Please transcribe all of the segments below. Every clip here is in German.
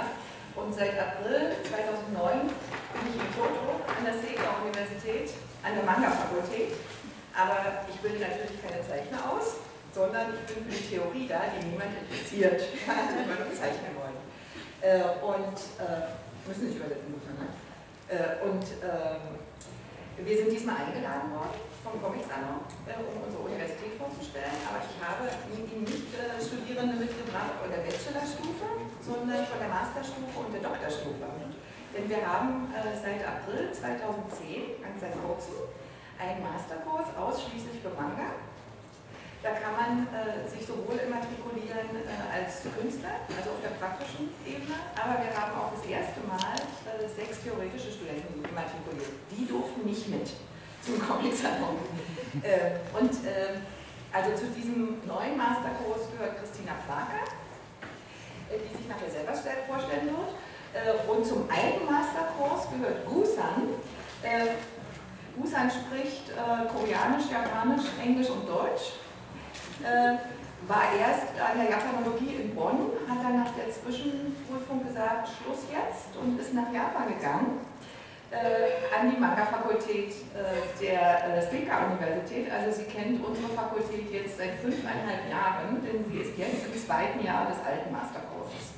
gemacht. Und seit April 2009 bin ich in Kyoto an der Seika-Universität, an der Manga-Fakultät. Aber ich bilde natürlich keine Zeichner aus, sondern ich bin für die Theorie da, die niemand interessiert, die nur zeichnen wollen. Müssen nicht übersetzen müssen, ne? Wir sind diesmal eingeladen worden vom Comic Salon, um unsere Universität vorzustellen, aber ich habe Ihnen nicht Studierende mitgebracht von der Bachelorstufe, sondern von der Masterstufe und der Doktorstufe. Denn wir haben seit April 2010, ganz seit kurzem, einen Masterkurs ausschließlich für Manga. Da kann man sich sowohl immatrikulieren als Künstler, also auf der praktischen Ebene, aber wir haben auch das erste Mal 6 theoretische Studenten immatrikuliert. Die durften nicht mit zum Comic-Salon. Also zu diesem neuen Masterkurs gehört Christina Plaker, die sich nachher selber vorstellen wird. Und zum alten Masterkurs gehört Gusan. Gusan spricht Koreanisch, Japanisch, Englisch und Deutsch. War erst an der Japanologie in Bonn, hat dann nach der Zwischenprüfung gesagt, Schluss jetzt, und ist nach Japan gegangen, an die Manga-Fakultät der Seika-Universität. Also sie kennt unsere Fakultät jetzt seit 5,5 Jahren, denn sie ist jetzt im 2. Jahr des alten Masterkurses.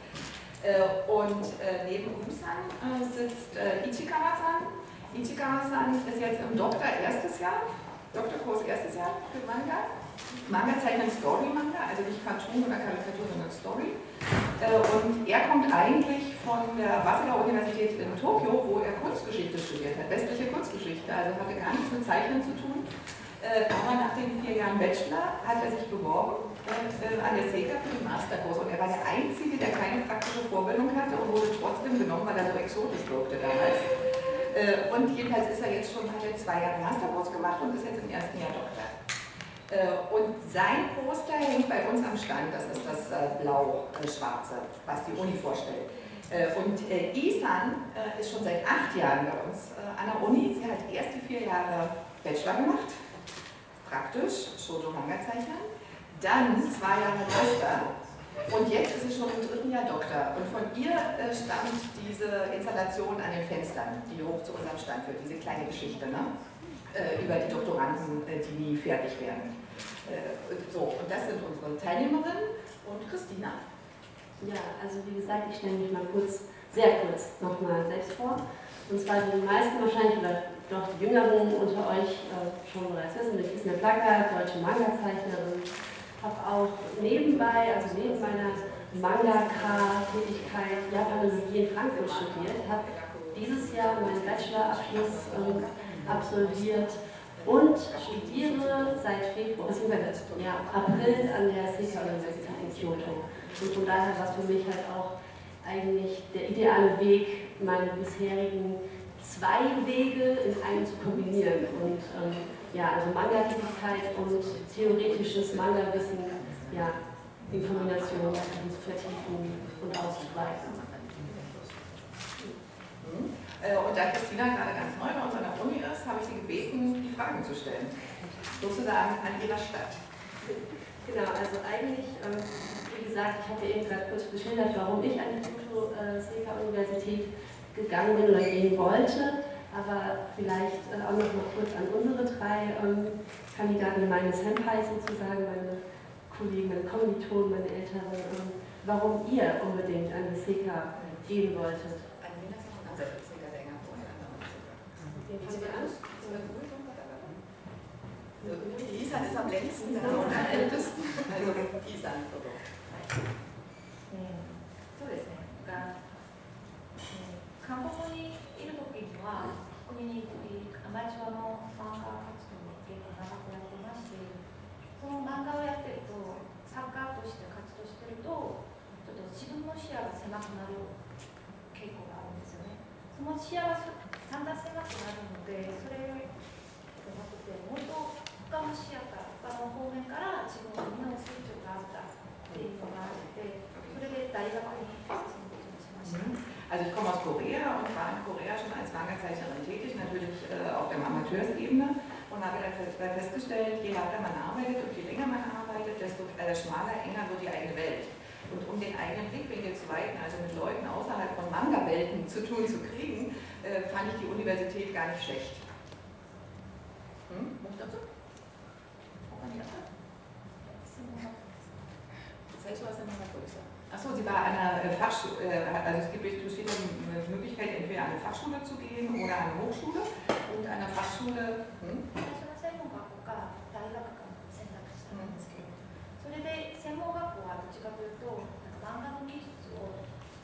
Neben Gusan sitzt Ichikawa-san. Ichikawa-san ist jetzt im Doktorkurs erstes Jahr für Manga. Manga zeichnet Story-Manga, also nicht Cartoon oder Karikatur, sondern Story. Und er kommt eigentlich von der Waseda-Universität in Tokio, wo er Kunstgeschichte studiert hat, westliche Kunstgeschichte, also hatte gar nichts mit Zeichnen zu tun. Aber nach den 4 Jahren Bachelor hat er sich beworben an der Seika für den Masterkurs. Und er war der Einzige, der keine praktische Vorbildung hatte und wurde trotzdem genommen, weil er so exotisch wirkte damals. Und jedenfalls hat er 2 Jahre Masterkurs gemacht und ist jetzt im 1. Jahr Doktor. Und sein Poster hängt bei uns am Stand, das ist das blau-schwarze, was die Uni vorstellt. Isan ist schon seit 8 Jahren bei uns an der Uni. Sie hat erst die 4 Jahre Bachelor gemacht, praktisch, Shoujo-Manga-Zeichner, dann 2 Jahre Master und jetzt ist sie schon im 3. Jahr Doktor. Und von ihr stammt diese Installation an den Fenstern, die hoch zu unserem Stand führt, diese kleine Geschichte, ne? Über die Doktoranden, die nie fertig werden. Und das sind unsere Teilnehmerinnen und Christina. Ja, also wie gesagt, ich stelle mich mal sehr kurz nochmal selbst vor. Und zwar die meisten wahrscheinlich, oder doch die Jüngeren unter euch schon bereits wissen, ich bin Placker, deutsche Manga-Zeichnerin, habe auch nebenbei, also neben meiner Mangaka-Tätigkeit Japanologie in Frankfurt studiert, habe dieses Jahr meinen Bachelorabschluss absolviert und studiere seit April an der Seika-Universität in Kyoto. Und von daher war es für mich halt auch eigentlich der ideale Weg, meine bisherigen 2 Wege in einen zu kombinieren. Und also Manga-Tätigkeit und theoretisches Manga-Wissen in Kombination zu vertiefen und auszubreiten. Und da Christina gerade ganz neu bei uns an der Uni ist, habe ich sie gebeten, die Fragen zu stellen. Sozusagen an ihrer Stadt. Genau, also eigentlich, wie gesagt, ich habe ja eben gerade kurz geschildert, warum ich an die Seika-Universität gegangen bin oder gehen wollte. Aber vielleicht auch noch mal kurz an unsere 3 Kandidaten, meine Senpais sozusagen, meine Kollegen, meine Kommilitonen, meine Älteren, warum ihr unbedingt an die Seika gehen wolltet. Isan ist am längsten und am ältesten. Also Isan. そうですね。韓国にいる時にはコミュニティアマチュアの漫画活動を結構長くやってまして、その漫画をやってると作家として活動してるとちょっと自分の視野が狭くなる傾向があるんですよね。その視野がだんだん狭くなるので、それじゃなくてもっと他の視野から他の方面から自分の身の成長があったっていうのがあって、それで大学に進むことにしました。 Also ich komme aus Korea und war in Korea schon als Manga-Zeichnerin tätig, natürlich auf der Amateursebene, und habe dann festgestellt, je weiter man arbeitet und je länger man arbeitet, desto schmaler, enger wird die eigene Welt. Und um den eigenen Blickwinkel zu weiten, also mit Leuten außerhalb von Manga-Welten zu tun zu kriegen, fand ich die Universität gar nicht schlecht. Muss dazu? Achso, sie war an einer Fachschule, also es besteht die Möglichkeit, entweder an eine Fachschule zu gehen oder an eine Hochschule. Und an der Fachschule. それで専門学校はどっちかというと漫画の技術を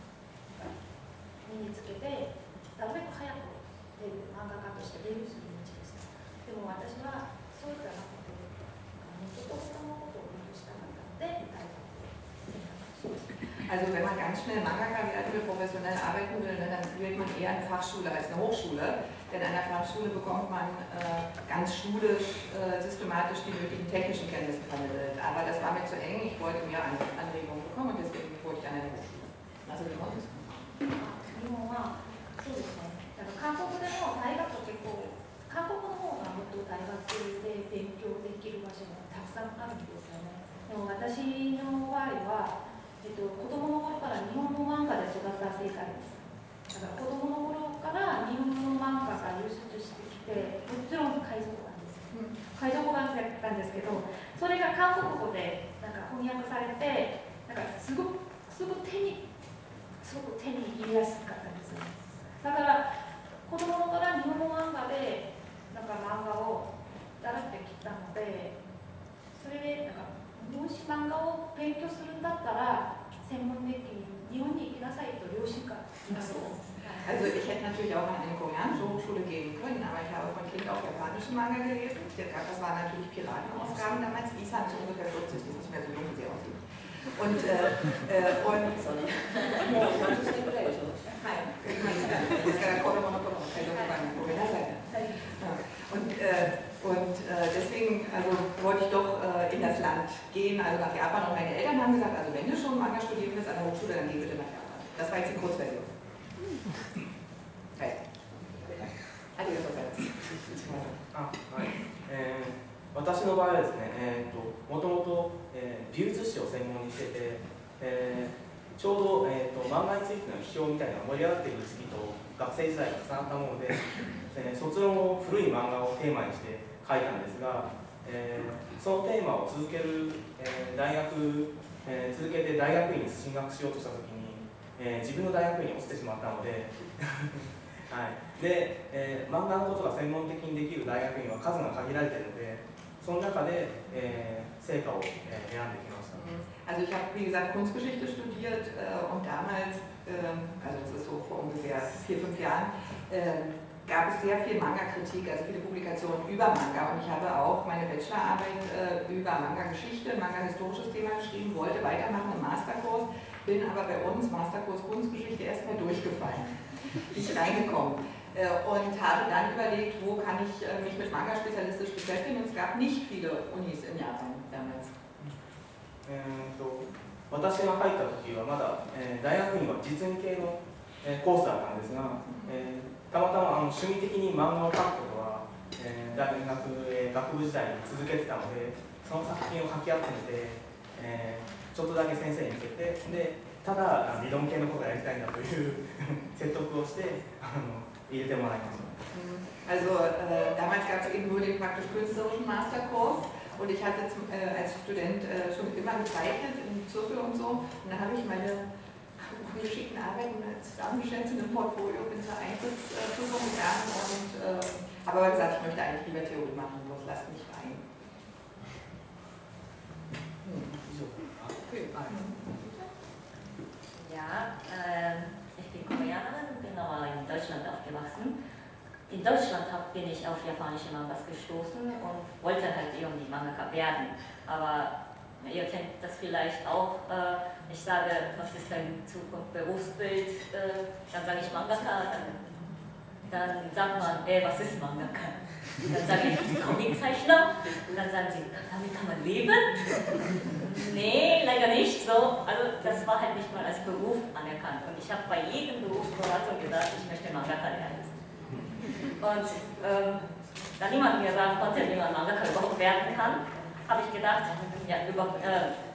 身につけてなるべく早く漫画家としてデビューする道でした。でも私はそういったなくてもっと他のことを勉強したかったので大学を選択しました。 Also wenn man ganz schnell Mangaka werden will, professionell arbeiten will, dann wählt man eher eine Fachschule als eine Hochschule. Denn an der Fachschule bekommt man ganz schulisch, systematisch die nötigen technischen Kenntnisse vermittelt. Aber das war mir zu eng, ich wollte mehr Anregungen bekommen und deswegen wollte ich an eine Hochschule. Also wie war das? 日本はそうですね。韓国でも大学結構韓国の方がもっと大学で勉強できる場所もたくさんあるんですよね。でも私の場合は子供の頃から日本語漫画で育った世界です。だから子供の頃から日本語漫画が輸出してきて、もちろん海賊版です。海賊版だったんですけど、それが韓国語でなんか翻訳されて、なんかすごく手に入れやすかったんですよ。だから子供の頃から日本語漫画でなんか漫画を習ってきたので、それでなんかもし漫画を勉強するんだったら専門的に日本に行きなさいと両親から言われてます。 Also ich hätte natürlich auch an eine koreanische Hochschule gehen können, aber ich habe von Kind auf japanischen Manga gelesen. Das waren natürlich Piratenausgaben damals. Isa ist ungefähr 40, die ist nicht mehr so jung, wie sie aussieht. Und deswegen also wollte ich doch in das Land gehen, also nach Japan. Und meine Eltern haben gesagt, also wenn du schon Manga studieren willst an der Hochschule, dann geh bitte nach Japan. Das war jetzt die Kurzversion. Okay. ありがとうございます。 私の場合はですね、もともと美術史を専門にしてて、ちょうど、漫画についての批評みたいな盛り上がっている時期と学生時代が重なったもので、卒論を古い漫画をテーマにして書いたんですが、そのテーマを続けて大学院に進学しようとしたときに、自分の大学院に落ちてしまったのではい、で、漫画のことが専門的にできる大学院は数が限られているので、その中で、成果を、選んできました。 Also ich habe, wie gesagt, Kunstgeschichte studiert und damals, also das ist so vor ungefähr 4, 5 Jahren, gab es sehr viel Manga-Kritik, also viele Publikationen über Manga. Und ich habe auch meine Bachelorarbeit über Manga-Geschichte, Manga-historisches Thema geschrieben, wollte weitermachen im Masterkurs, bin aber bei uns, Masterkurs Kunstgeschichte, erstmal durchgefallen, nicht reingekommen. Und habe dann überlegt, wo kann ich mich mit Manga spezialistisch beschäftigen. Und es gab nicht viele Unis in Japan damals. 私が入った時はまだ、大学院は実演系の、コースだったんですが、たまたま趣味的に漫画を描くことは、大学、学部時代に続けてたので、その作品をかき集めて、ちょっとだけ先生に見せて、でただ理論系のことをやりたいんだという説得をして入れてもらいました。 Also damals gab es eben nur den praktisch künstlerischen Masterkurs und ich hatte als Student schon immer gezeichnet im Zirkel und so. Und dann habe ich meine ungeschickten Arbeiten zusammengestellt zu einem Portfolio, bin zur Eintrittsprüfung gegangen und habe aber gesagt, ich möchte eigentlich lieber Theorie machen, bloß lasst mich rein. Ja, ich bin Koreanerin und bin aber in Deutschland aufgewachsen. In Deutschland bin ich auf japanische Mangas gestoßen und wollte halt irgendwie Mangaka werden. Aber ihr kennt das vielleicht auch. Ich sage, was ist dein Zukunft, Berufsbild? Dann sage ich Mangaka. Dann sagt man, was ist Mangaka? Dann sage ich Comiczeichner. Dann sagen sie, damit kann man leben? Nee, leider nicht so. Also das war halt nicht mal als Beruf anerkannt. Und ich habe bei jedem Berufsberatung gesagt, ich möchte Mangaka werden. Und da niemand mir sagen konnte, wie man Mangaka überhaupt werden kann, habe ich gedacht, ja,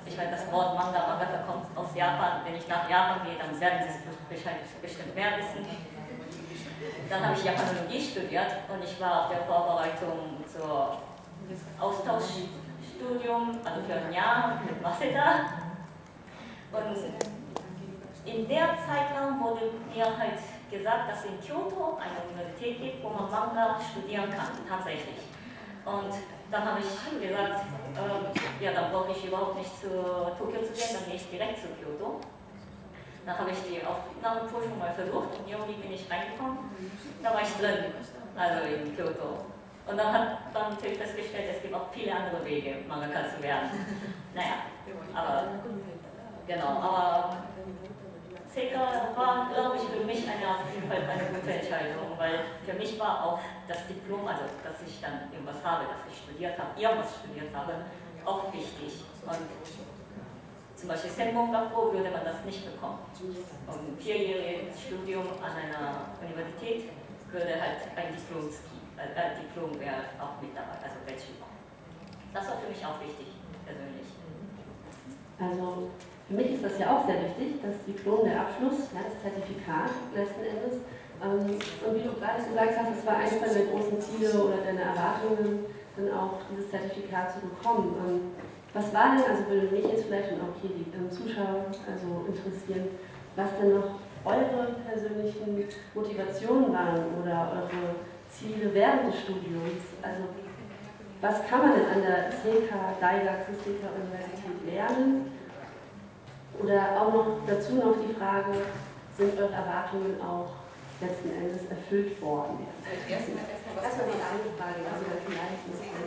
ich meine, das Wort Mangaka kommt aus Japan. Wenn ich nach Japan gehe, dann werden Sie es bestimmt mehr wissen. Dann habe ich Japanologie studiert und ich war auf der Vorbereitung zur Austauschstudium, also für ein Jahr mit Waseda. Und in der Zeitraum wurde mir halt gesagt, dass es in Kyoto eine Universität gibt, wo man Manga studieren kann, tatsächlich. Und dann habe ich gesagt, ja, dann brauche ich überhaupt nicht zu Tokio zu gehen, dann gehe ich direkt zu Kyoto. Dann habe ich die Aufnahmeprüfung mal versucht und irgendwie bin ich reingekommen. Da war ich drin, also in Kyoto. Und dann hat man natürlich festgestellt, es gibt auch viele andere Wege, Mangaka zu werden. Naja, aber genau, aber Seika war, glaube ich, für mich auf jeden Fall eine gute Entscheidung, weil für mich war auch das Diplom, also dass ich dann irgendwas habe, dass ich studiert habe, irgendwas studiert habe, auch wichtig. Und zum Beispiel Senmon-Gakko würde man das nicht bekommen. Und ein 4-jähriges Studium an einer Universität würde halt ein Diplom wäre auch mit dabei, also Bachelor. Das war für mich auch wichtig, persönlich. Also für mich ist das ja auch sehr wichtig, das Diplom, der Abschluss, ja, das Zertifikat letzten Endes. Und wie du gerade gesagt hast, es war eines deiner großen Ziele oder deine Erwartungen, dann auch dieses Zertifikat zu bekommen. Was war denn, also würde mich jetzt vielleicht und auch hier die Zuschauer also interessieren, was denn noch eure persönlichen Motivationen waren oder eure Ziele während des Studiums? Also was kann man denn an der Seika Daigaku Seika Universität lernen? Oder auch noch dazu noch die Frage, sind eure Erwartungen auch letzten Endes erfüllt worden? Erstmal Das war die eine Frage, also dann vielleicht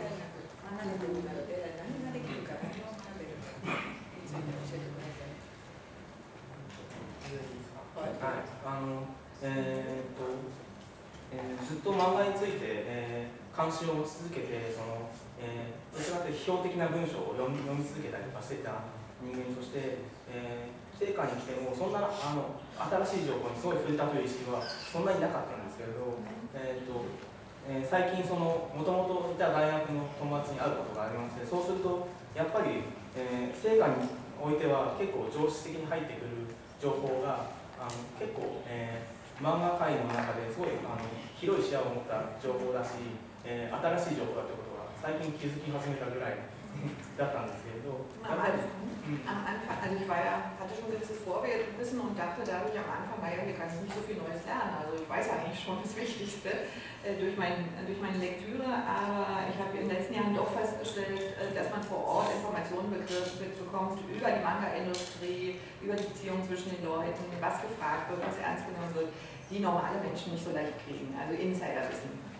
ずっと漫画について、関心を持ち続けて、どちらかというと批評的な文章を読み続けたりとかしていた人間として、成果に来てもそんな新しい情報にすごい触れたという意識はそんなになかったんですけれど、最近もともといた大学の友達に会うことがありまして、そうするとやっぱり、成果においては結構常識的に入ってくる情報が結構、漫画界の中ですごい広い視野を持った情報だし、新しい情報だということが最近気づき始めたぐらいだったんですけれど、 am Anfang, also ich hatte schon ein gewisses Vorwissen und dachte dadurch am Anfang, naja, hier kann ich nicht so viel Neues lernen. Also ich weiß eigentlich schon das Wichtigste durch meine Lektüre, aber ich habe in den letzten Jahren doch festgestellt, dass man vor Ort Informationen bekommt über die Manga-Industrie, über die Beziehung zwischen den Leuten, was gefragt wird, was ernst genommen wird, die normale Menschen nicht so leicht kriegen, also Insiderwissen.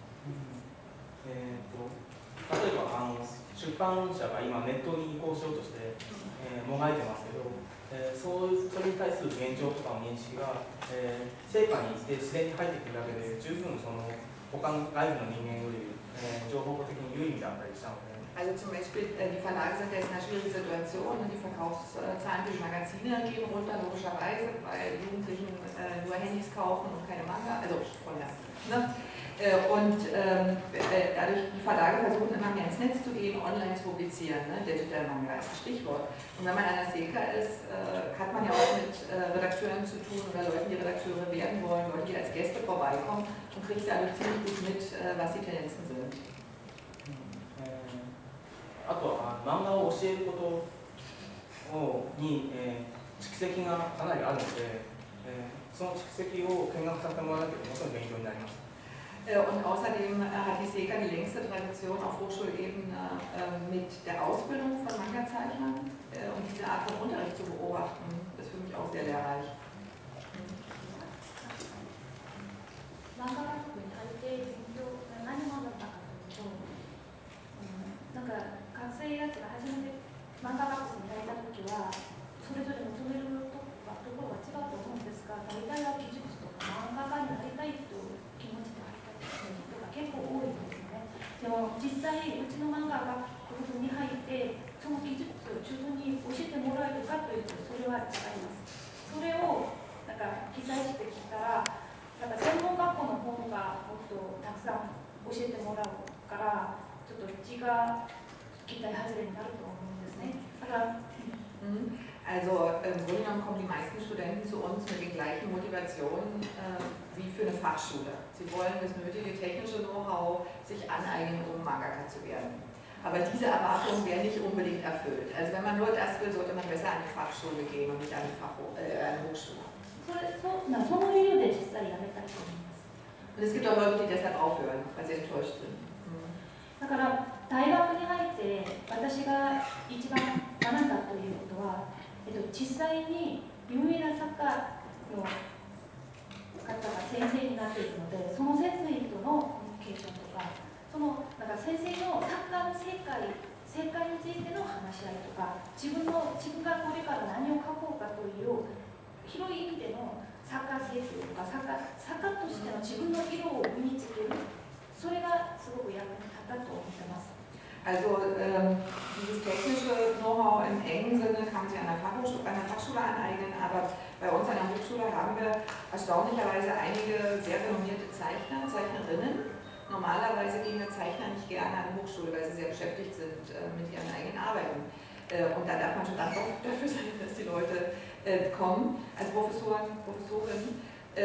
例えば出版社が今ネットに移行しようとして、もがいてますけど、それに対する現状とかの認識が、成果にして自然に入ってくるだけで十分他の外部の人間より、情報的に有意義だったりしたので。 Also zum Beispiel, die Verlage sind jetzt in einer schwierigen Situation und die Verkaufszahlen für die Magazine gehen runter, logischerweise, weil Jugendlichen nur Handys kaufen und keine Manga, also von der, ne? Und dadurch die Verlage versuchen immer mehr ins Netz zu gehen, online zu publizieren, ne? Digital Manga ist das Stichwort. Und wenn man an der Seika ist, hat man ja auch mit Redakteuren zu tun oder Leuten, die Redakteure werden wollen, Leute, die als Gäste vorbeikommen und kriegt dadurch ziemlich gut mit, was die Tendenzen sind. あとは漫画を教えることに、蓄積がかなりあるので、その蓄積を見学させてもらわなければもちろん勉強になります。 Und außerdem hat die Seika die längste Tradition auf Hochschulebene mit der Ausbildung von Manga-Zeichnern und diese Art von Unterricht zu beobachten, ist für mich auch sehr lehrreich. 漫画学部に入って勉強が何者だったかというと、なんか学生たちが初めて漫画学部に入った時はそれぞれ求めるところが違うと思うんですが、大体は技術とか漫画家になりたいという気持ちで入った人が結構多いんですね。でも実際うちの漫画学部に入ってその技術を自分に教えてもらえるかというとそれは違います。それをなんか記載してきたら、なんか専門学校の方がもっとたくさん教えてもらうから、ちょっとうちが期待外れになると思うんですね。 Also im Grunde genommen kommen die meisten Studenten zu uns mit den gleichen Motivationen wie für eine Fachschule. Sie wollen das nötige technische Know-how sich aneignen, um Mangaka zu werden. Aber diese Erwartungen werden nicht unbedingt erfüllt. Also wenn man nur das will, sollte man besser an die Fachschule gehen und nicht an die Hochschule. Und es gibt auch Leute, die deshalb aufhören, weil sie enttäuscht sind. だから大学に入って私が一番学んだということは、実際に有名な作家の方が先生になっているので、その先生とのコミュニケーションとか、なんか先生の作家の正解についての話し合いとか、自分がこれから何を書こうかという広い意味での作家性というか、作家としての自分の色を身につける、それがすごく役に立ったと思ってます。 Also dieses technische Know-how im engen Sinne kann man sich an der Fachschule aneignen, aber bei uns an der Hochschule haben wir erstaunlicherweise einige sehr renommierte Zeichner, Zeichnerinnen. Normalerweise gehen wir Zeichner nicht gerne an die Hochschule, weil sie sehr beschäftigt sind mit ihren eigenen Arbeiten. Und da darf man schon dankbar dafür sein, dass die Leute kommen als Professorinnen.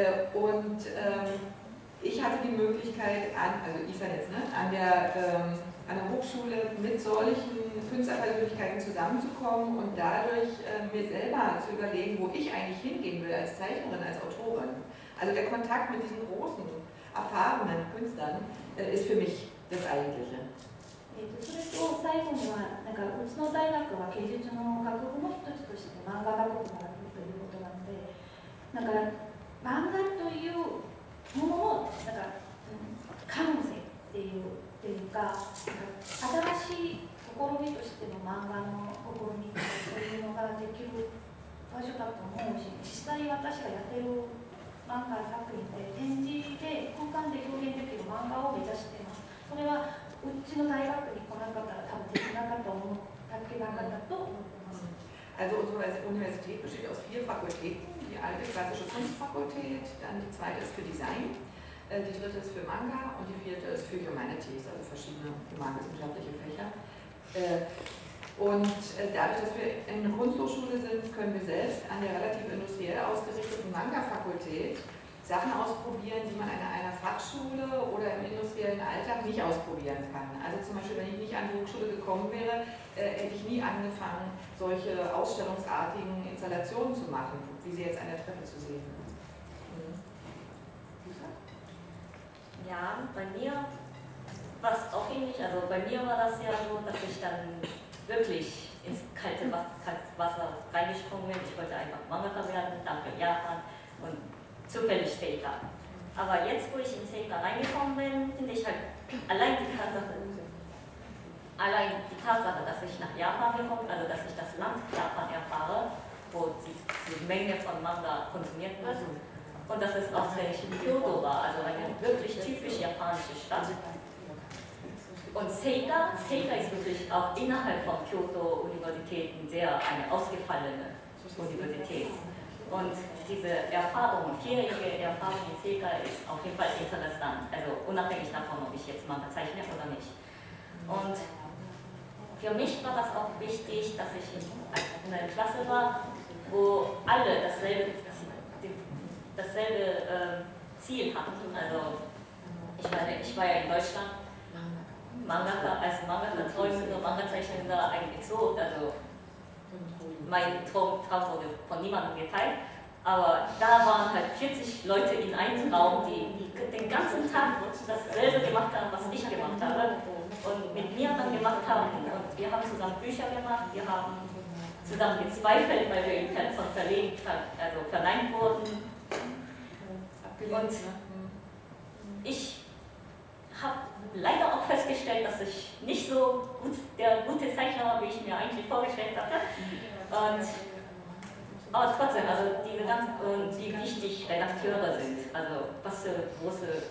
Ich hatte die Möglichkeit, also Isa jetzt, an der Hochschule mit solchen Künstlerpersönlichkeiten zusammenzukommen und dadurch mir selber zu überlegen, wo ich eigentlich hingehen will als Zeichnerin, als Autorin. Also der Kontakt mit diesen großen, erfahrenen Künstlern ist für mich das Eigentliche. それと最後には、なんかうちの大学は芸術の学部の一つとして漫画学部があるということなので、なんか漫画というもののなんか可能性っていうか、新しい試みとしての漫画の試みとかそういうのができる場所だと思うし、実際私がやってる漫画作品で展示で空間で表現できる漫画を目指しています。それはうちの大学に来なかったら多分できなかったと思ってます。 Also unsere Universität besteht aus 4 Fakultäten. Die alte klassische Kunstfakultät, dann die zweite ist für Design, die dritte ist für Manga und die vierte ist für Humanities, also verschiedene humanwissenschaftliche Fächer. Und dadurch, dass wir in einer Kunsthochschule sind, können wir selbst an der relativ industriell ausgerichteten Manga-Fakultät Sachen ausprobieren, die man an einer Fachschule oder im industriellen Alltag nicht ausprobieren kann. Also zum Beispiel, wenn ich nicht an die Hochschule gekommen wäre, hätte ich nie angefangen, solche ausstellungsartigen Installationen zu machen, wie sie jetzt an der Treppe zu sehen sind. Ja, bei mir war es auch ähnlich. Also bei mir war das ja so, dass ich dann wirklich ins kalte Wasser reingesprungen bin. Ich wollte einfach Mangaka werden, dann für Japan und zufällig Seika. Aber jetzt, wo ich in Seika reingekommen bin, finde ich halt allein die Tatsache, dass ich nach Japan gekommen bin, also dass ich das Land Japan erfahre, wo die Menge von Manga konsumiert wird. Und dass es auch Kyoto war, also eine wirklich typisch japanische Stadt. Und Seika ist wirklich auch innerhalb von Kyoto-Universitäten eine ausgefallene Universität. Und diese Erfahrung, 4-jährige Erfahrung in Seika ist auf jeden Fall interessant, also unabhängig davon, ob ich jetzt Manga zeichne oder nicht. Und für mich war das auch wichtig, dass ich in einer Klasse war, wo alle dasselbe Ziel hatten. Also ich war ja in Deutschland als Mangaka träumender, Manga-Zeichnender ein Exot, also mein Traum wurde von niemandem geteilt, aber da waren halt 40 Leute in einem Raum, die den ganzen Tag dasselbe gemacht haben, was ich gemacht habe und mit mir dann gemacht haben und wir haben zusammen Bücher gemacht, wir haben zusammen gezweifelt, weil wir von Verlegen verneint wurden und ich habe leider auch festgestellt, dass ich nicht so der gute Zeichner war, wie ich mir eigentlich vorgestellt hatte. Aber trotzdem, also diese ganzen, wie wichtig Redakteure sind, also was für große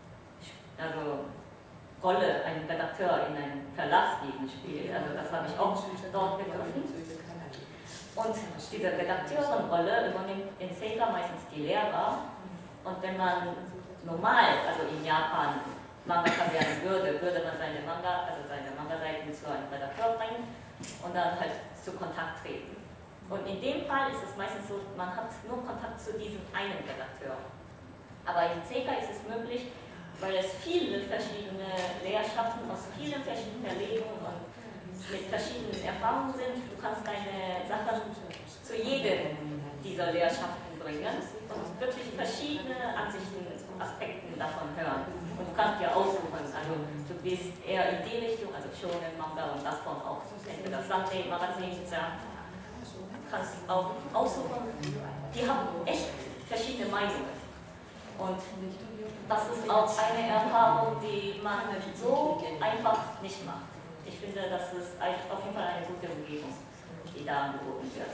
Rolle ein Redakteur in einem Verlagsleben spielt, also das habe ich auch dort begriffen. Und diese Redakteurenrolle übernimmt in Seika meistens die Lehrer. Und wenn man normal, also in Japan, Mangaka werden würde man seine Manga-Seiten zu einem Redakteur bringen. und dann halt zu Kontakt treten. Und in dem Fall ist es meistens so, man hat nur Kontakt zu diesem einen Redakteur. Aber in Seika ist es möglich, weil es viele verschiedene Lehrschaften aus vielen verschiedenen Verlegungen und mit verschiedenen Erfahrungen sind. Du kannst deine Sachen zu jedem dieser Lehrschaften bringen und wirklich verschiedene Ansichten, Aspekten davon hören. Und du kannst dir aussuchen, also du gehst eher in die Richtung, also Shonen, Manga und davon auch entweder Sunday, Magazin, kannst auch aussuchen. Die haben echt verschiedene Meinungen. Und das ist auch eine Erfahrung, die man so einfach nicht macht. Ich finde, das ist auf jeden Fall eine gute Umgebung, die da angeboten wird.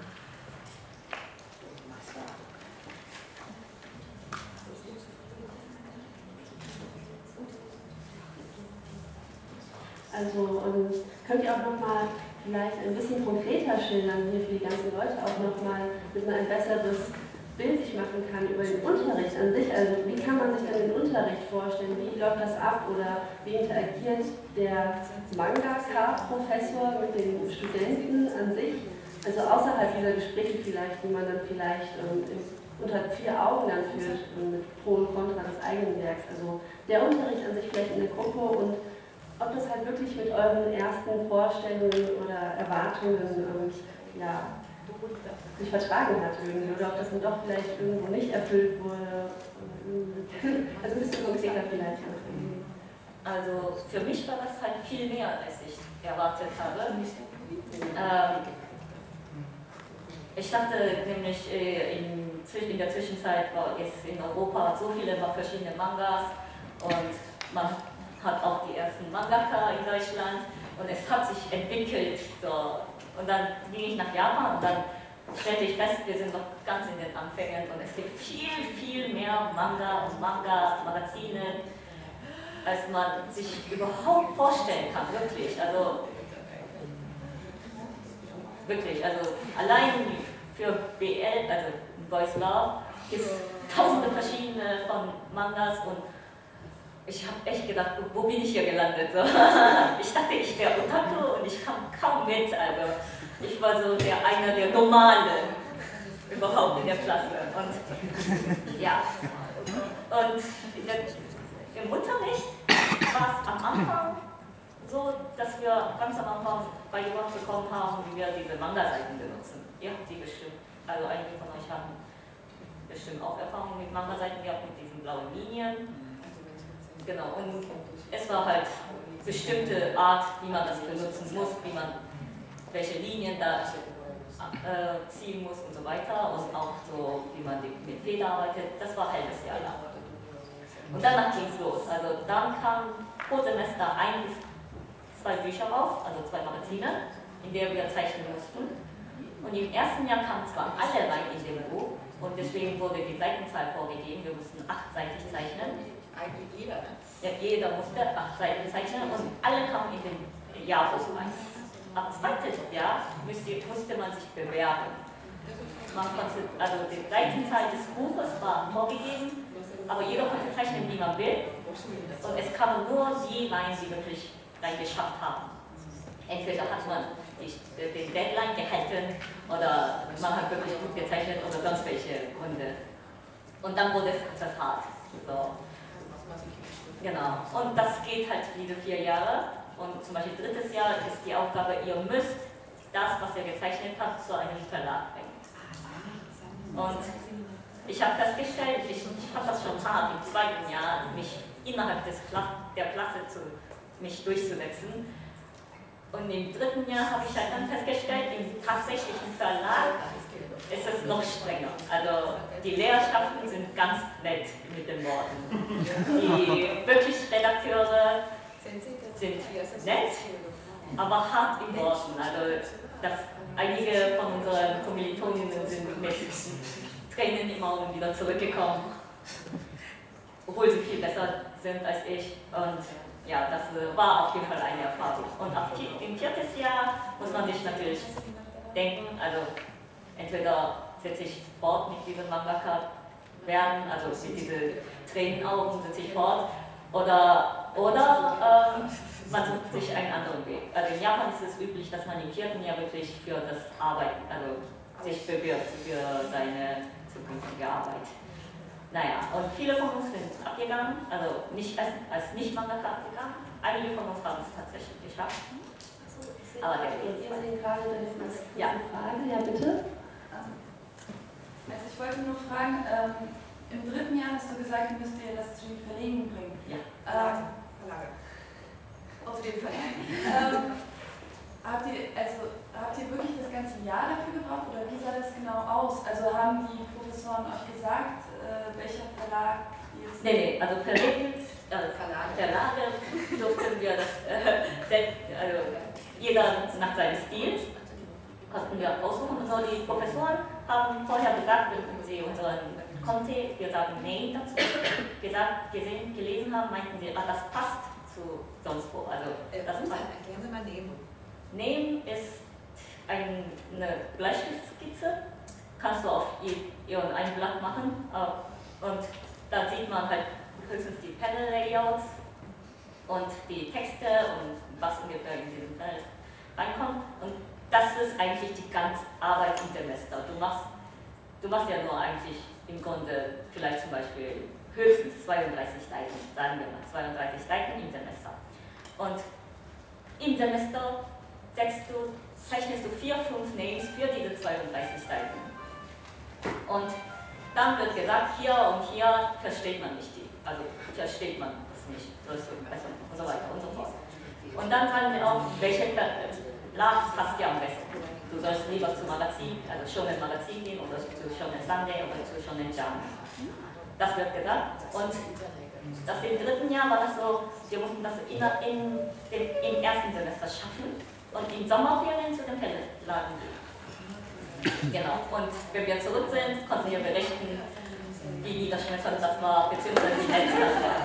Also könnt ihr auch nochmal vielleicht ein bisschen konkreter schildern, hier für die ganzen Leute auch nochmal, damit man ein besseres Bild sich machen kann über den Unterricht an sich. Also wie kann man sich dann den Unterricht vorstellen? Wie läuft das ab oder wie interagiert der Mangaka-Professor mit den Studenten an sich? Also außerhalb dieser Gespräche vielleicht, die man dann vielleicht unter 4 Augen dann führt, mit Pro und Contra des eigenen Werks. Also der Unterricht an sich vielleicht in der Gruppe und ob das halt wirklich mit euren ersten Vorstellungen oder Erwartungen sich vertragen hat irgendwie, oder ob das dann doch vielleicht irgendwo nicht erfüllt wurde. Also ein bisschen konkreter vielleicht. Also für mich war das halt viel mehr, als ich erwartet habe. Ich dachte nämlich, in der Zwischenzeit war es in Europa so viele verschiedene Mangas und man hat auch die ersten Mangaka in Deutschland und es hat sich entwickelt. So. Und dann ging ich nach Japan und dann stellte ich fest, wir sind noch ganz in den Anfängen und es gibt viel, viel mehr Manga und Manga-Magazine, als man sich überhaupt vorstellen kann, wirklich. Also wirklich, also allein für BL, also Boys Love, gibt es tausende verschiedene von Mangas und ich habe echt gedacht, wo bin ich hier gelandet? So. Ich dachte, ich wäre Otaku und ich kam kaum mit. Also ich war so einer der Normalen überhaupt in der Klasse. Und ja, und im Unterricht war es am Anfang so, dass wir ganz am Anfang beigebracht bekommen haben, wie wir diese Manga-Seiten benutzen. Ihr habt die bestimmt, also einige von euch haben bestimmt auch Erfahrungen mit Manga-Seiten gehabt, mit diesen blauen Linien. Genau, und es war halt bestimmte Art, wie man das benutzen muss, wie man welche Linien da ziehen muss und so weiter und auch so, wie man mit Feder arbeitet. Das war halbes Jahr lang. Und danach ging es los. Also dann kam pro Semester 1 bis 2 Bücher raus, also 2 Magazine, in der wir zeichnen mussten. Und im ersten Jahr kamen zwar alle rein in dem Buch und deswegen wurde die Seitenzahl vorgegeben, wir mussten 8-seitig zeichnen. Eigentlich jeder, ne? Ja, jeder musste 8 Seiten zeichnen und alle kamen in den Jahrbuch rein. Ab 2. Jahr musste man sich bewerben. Also die Seitenzahl des Buches war vorgegeben, aber jeder konnte zeichnen, wie man will. Und es kamen nur die rein, die wirklich reingeschafft haben. Entweder hat man den Deadline gehalten oder man hat wirklich gut gezeichnet oder sonst welche Gründe. Und dann wurde es etwas hart. So. Genau, und das geht halt diese 4 Jahre und zum Beispiel 3. Jahr ist die Aufgabe, ihr müsst das, was ihr gezeichnet habt, zu einem Verlag bringen. Und ich habe festgestellt, ich fand das schon hart, im 2. Jahr mich innerhalb der Klasse mich durchzusetzen. Und im 3. Jahr habe ich halt dann festgestellt, im tatsächlichen Verlag ist es noch strenger. Also die Lehrerschaften sind ganz nett mit den Worten. Die wirklich Redakteure sind nett, aber hart in Worten. Also einige von unseren Kommilitoninnen sind mit Tränen im Auge wieder zurückgekommen, obwohl sie viel besser sind als ich. Und ja, das war auf jeden Fall eine Erfahrung. Und im 4. Jahr muss man sich natürlich denken, also entweder setze ich fort mit diesem Mangaka werden, also mit diesen Tränenaugen setze ich fort, oder man sucht sich einen anderen Weg. Also in Japan ist es üblich, dass man im 4. Jahr wirklich für das Arbeiten, also sich bewirbt für seine zukünftige Arbeit. Naja, und viele von uns sind abgegangen, also nicht als Nicht-Mangaka abgegangen. Einige von uns haben es tatsächlich geschafft. Aber der Wir sehen gerade eine Frage. Ja, bitte. Also ich wollte nur fragen, im 3. Jahr hast du gesagt, müsst ihr das zu den Verlegen bringen. Ja. Verlage. Zu den Verlagen. Habt ihr wirklich das ganze Jahr dafür gebraucht oder wie sah das genau aus? Also haben die Professoren euch gesagt, welcher Verlag jetzt... Nee, also Verlage durften wir das, also jeder nach seinem Stil, konnten wir aussuchen. Und so die Professoren haben vorher gesagt, wenn sie unseren Conte, wir sagen Name dazu, gelesen haben, meinten sie, das passt zu sonst wo. Also, das passt. Erklären Sie mal Name. Name ist eine Bleistiftskizze, kannst du auf ein Blatt machen und da sieht man halt höchstens die Panel-Layouts und die Texte und was ungefähr in diesem Panel reinkommt. Und das ist eigentlich die ganze Arbeit im Semester. Du machst ja nur eigentlich im Grunde vielleicht zum Beispiel höchstens 32 Seiten, sagen wir mal 32 Seiten im Semester. Und im Semester zeichnest du 4, 5 Names für diese 32 Seiten. Und dann wird gesagt, hier und hier versteht man nicht also versteht man das nicht, und so weiter und so fort. Und dann sagen sie auch, welche Verlag passt dir am besten. Du sollst lieber zu Magazin, also Shonen Magazin gehen oder zu Shonen Sunday oder zu Shonen Jump. Das wird gesagt. Und das im 3. Jahr war das so, wir mussten das im 1. Semester schaffen und in Sommerferien zu den Verlagen gehen. Genau. Und wenn wir zurück sind, konnten wir berichten, wie niederschmetternd das war, beziehungsweise wie nett das war.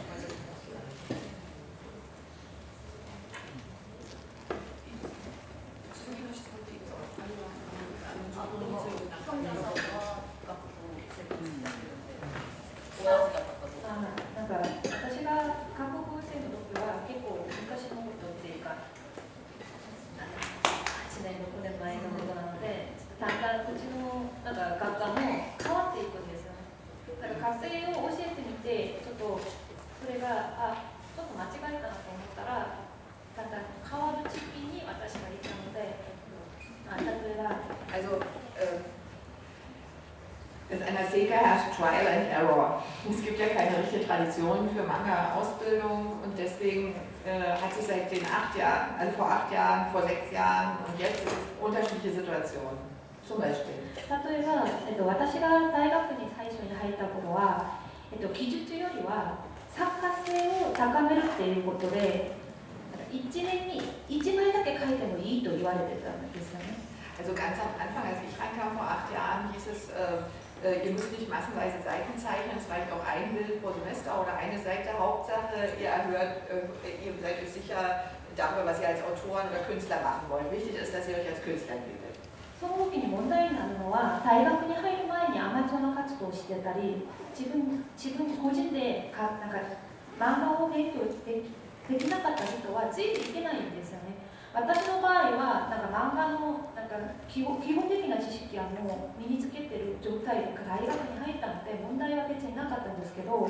Trial and Error. Es gibt ja keine richtige Tradition für Manga-Ausbildung und deswegen hat sich seit den 8 Jahren, also vor 8 Jahren, vor 6 Jahren und jetzt unterschiedliche Situationen. Zum Beispiel. 例えば、私が大学に最初に入った頃は、技術よりは作家性を高めるっていうことで、1年に1枚だけ書いてもいいと言われてたんですよね。 Also ganz am Anfang, als ich reinkam vor 8 Jahren, hieß es, ihr müsst nicht massenweise Seiten zeichnen, es reicht auch ein Bild pro Semester oder eine Seite. Hauptsache, ihr seid euch sicher darüber, was ihr als Autoren oder Künstler machen wollt. Wichtig ist, dass ihr euch als Künstler bildet. その時に問題になるのは、大学に入る前にアマチュアの活動をしてたり、自分個人でなんか漫画を勉強できなかった人はついていけないんですよね。私の場合はなんか漫画のなんか基本的な知識はもう身につけてる状態で大学に入ったので問題は別になかったんですけど。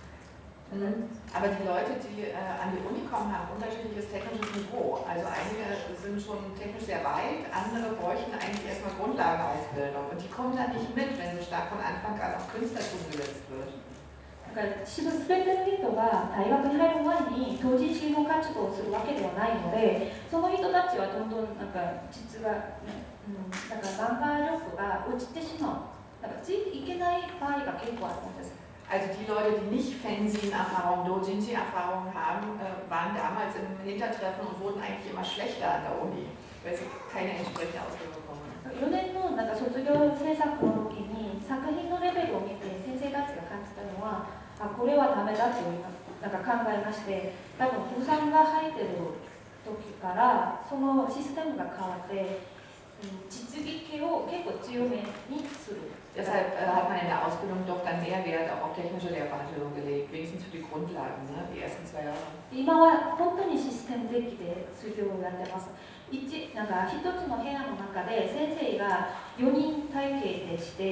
Aber die Leute, die an die Uni kommen, haben unterschiedliches technisches Niveau. Also einige sind schon technisch sehr weit, andere bräuchten eigentlich erstmal Grundlagenausbildung. Und die kommen dann nicht mit, wenn so stark von Anfang an auf Künstlertum gesetzt wird. だから全ての人が大学に入る前に同時進行活動をするわけではないので、その人たちはどんどんなんか質が、だから漫画力が落ちてしまう。だからついていけない場合が結構あるんです。 Also die Leute, die nicht Fanzine-Erfahrung, Doujinshi-Erfahrung haben, waren damals im Hintertreffen und wurden eigentlich immer schlechter an der Uni, weil sie keine entsprechende Ausbildung bekommen. 4年のなんか卒業制作の時に作品のレベルを見て先生たちが感じたのは、これはダメだとなんか考えまして、多分古参が入ってる時からそのシステムが変わって、 実技系を結構強めにする。 Deshalb hat man in der Ausbildung doch dann mehr Wert auch auf technische Lehrveranstaltungen gelegt, wenigstens für die Grundlagen, ne? Die ersten 2 Jahre. 今は本当にシステム的で授業をやってます。なんか一つの部屋の中で先生が4人体系でして、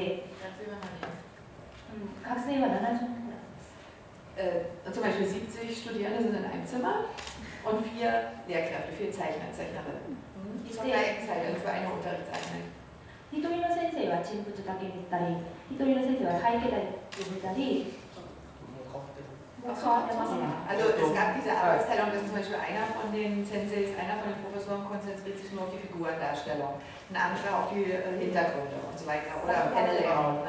学生は70人ぐらいです。 Zum Beispiel 70 Studierende sind in einem Zimmer und 4 Lehrkräfte, 4 Zeichner, Zeichnerinnen. Zur gleichen Zeit, also für eine Unterrichtseinheit. 一人の先生は人物だけ見たり、一人の先生は背景だけ見たり。 Also es gab diese Arbeitsteilung, dass zum Beispiel einer von den Senseis, einer von den Professoren konzentriert sich nur auf die Figurendarstellung, ein anderer auf die Hintergründe und so weiter oder Panel-Layout.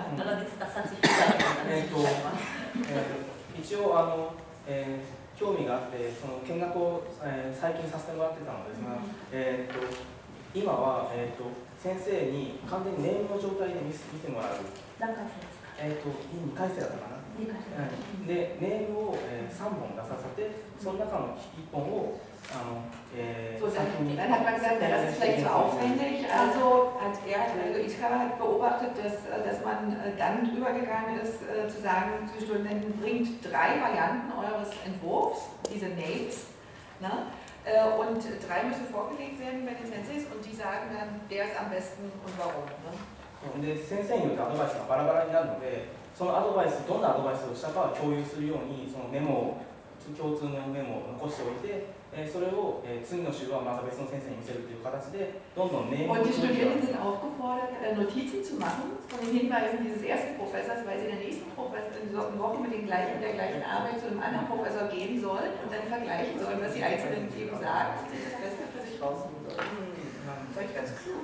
一応興味があってその見学を、最近させてもらってたのですが、今は、先生に完全にネームの状態で見てもらう。 何回生ですか ？2回生だったかな。で、ネームを、3本出させて、その中の1本を dann hat man gesagt, ja, das ist vielleicht zu aufwendig. Also Ichikawa hat beobachtet, dass man dann übergegangen ist, zu sagen, zu Studenten, bringt 3 Varianten eures Entwurfs, diese Names, ne? Und 3 müssen vorgelegt werden bei den Senseis und die sagen dann, der ist am besten und warum. Ne? で先生によってアドバイスがバラバラになるので、そのアドバイス、どんなアドバイスをしたかを共有するように、そのメモを、共通のメモを残しておいて、それを次の週はまた別の先生に見せるという形で、どんどんネームを。 Und die Studierenden sind aufgefordert, Notizen zu machen von den Hinweisen dieses ersten Professors, weil sie in der nächsten Woche mit der gleichen Arbeit zu einem anderen Professor gehen sollen und dann vergleichen sollen, was die Einzelnen eben sagen und sich das Beste für sich raussuchen sollen. Das ist ganz klug.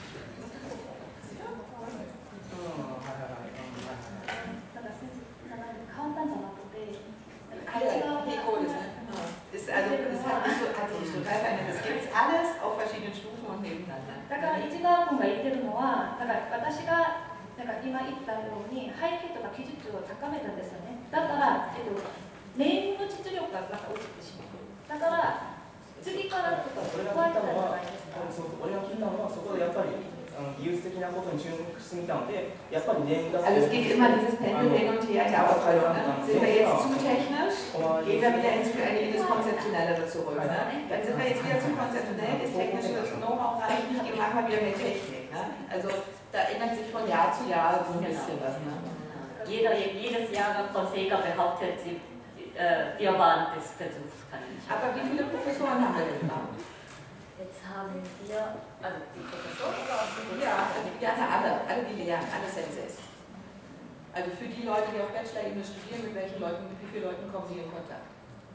簡単じゃなくて、 hat sich total verändert. Es gibt alles auf verschiedenen Stufen und nebeneinander. だから市川君が言ってるのは、だから私が今言ったように背景とか技術を高めたんですよね。だから、ネームの実力がまた落ちてしまう。だから次からちょっと加えたらじゃないですか。 俺が聞いたのはそこでやっぱり技術的なことに注目してみたので、やっぱりネームが。 Also es geht immer dieses Pendel hin und her der Ausbildung. Ne? Sind wir jetzt zu technisch? Gehen wir wieder in das Konzeptionellere zurück. Ne? Dann sind wir jetzt wieder zu konzeptionell, das technische Know-how reicht nicht, gehen wir mal wieder mit Technik. Ne? Also da ändert sich von Jahr zu Jahr so ein bisschen was. Ne? Jedes Jahr von Sega behauptet, wir waren des Versuchs. Aber wie viele Professoren haben wir denn noch? Jetzt haben wir, also die Professoren oder auch die alle die lehren, alle Senseis. Also für die Leute, die auf Bachelor-Ebene studieren, mit wie vielen Leuten kommen sie in Kontakt?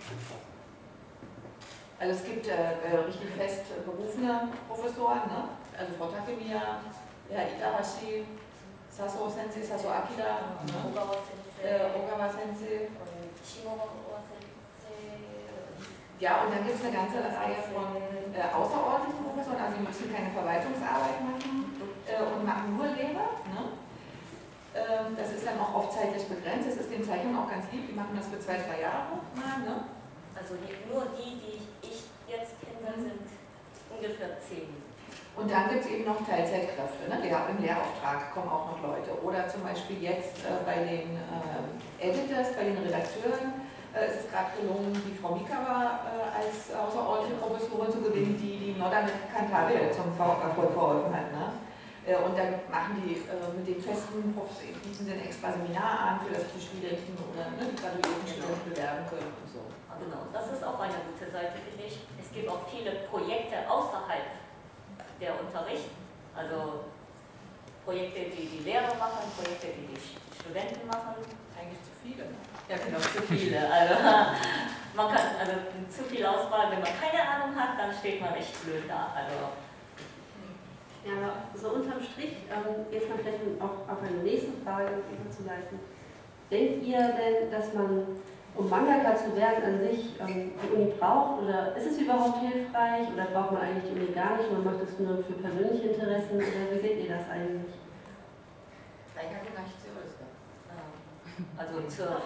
Also es gibt richtig fest berufene Professoren, ne? Also Frau Takemiya, Herr Itahashi, Saso Sensei, Saso Akira, Ogawa Sensei. Ja, und dann gibt es eine ganze Reihe von außerordentlichen Professoren, also die müssen keine Verwaltungsarbeit machen und machen nur Lehre. Ne? Das ist dann auch oft zeitlich begrenzt, das ist den Zeichnern auch ganz lieb, die machen das für 2-3 Jahre mal. Ne? Also nur die ich jetzt kenne, sind ungefähr 10. Und dann gibt es eben noch Teilzeitkräfte, ne? Im Lehrauftrag kommen auch noch Leute. Oder zum Beispiel jetzt bei den Editors, bei den Redakteuren, es ist gerade gelungen, die Frau Mikawa als außerordentliche Professorin zu gewinnen, die Nodda mit Cantabile zum Erfolg verholfen hat. Ne? Und dann machen die mit den festen Professoren, bieten sie ein extra Seminar an, für das die Studenten oder die graduierten Studenten bewerben können und so. Genau, das ist auch eine gute Seite, finde ich. Es gibt auch viele Projekte außerhalb der Unterricht, also Projekte, die die Lehrer machen, Projekte, die die Studenten machen. Eigentlich zu viele. Ne? Ja, genau, zu viele. Also, man kann, zu viel Auswahl, wenn man keine Ahnung hat, dann steht man echt blöd da. Also. Ja, aber so unterm Strich, jetzt mal vielleicht auch auf eine nächste Frage überzuleiten. Denkt ihr denn, dass man, um Mangaka zu werden, an sich die Uni braucht? Oder ist es überhaupt hilfreich? Oder braucht man eigentlich die Uni gar nicht? Man macht es nur für persönliche Interessen? Oder wie seht ihr das eigentlich? Also zur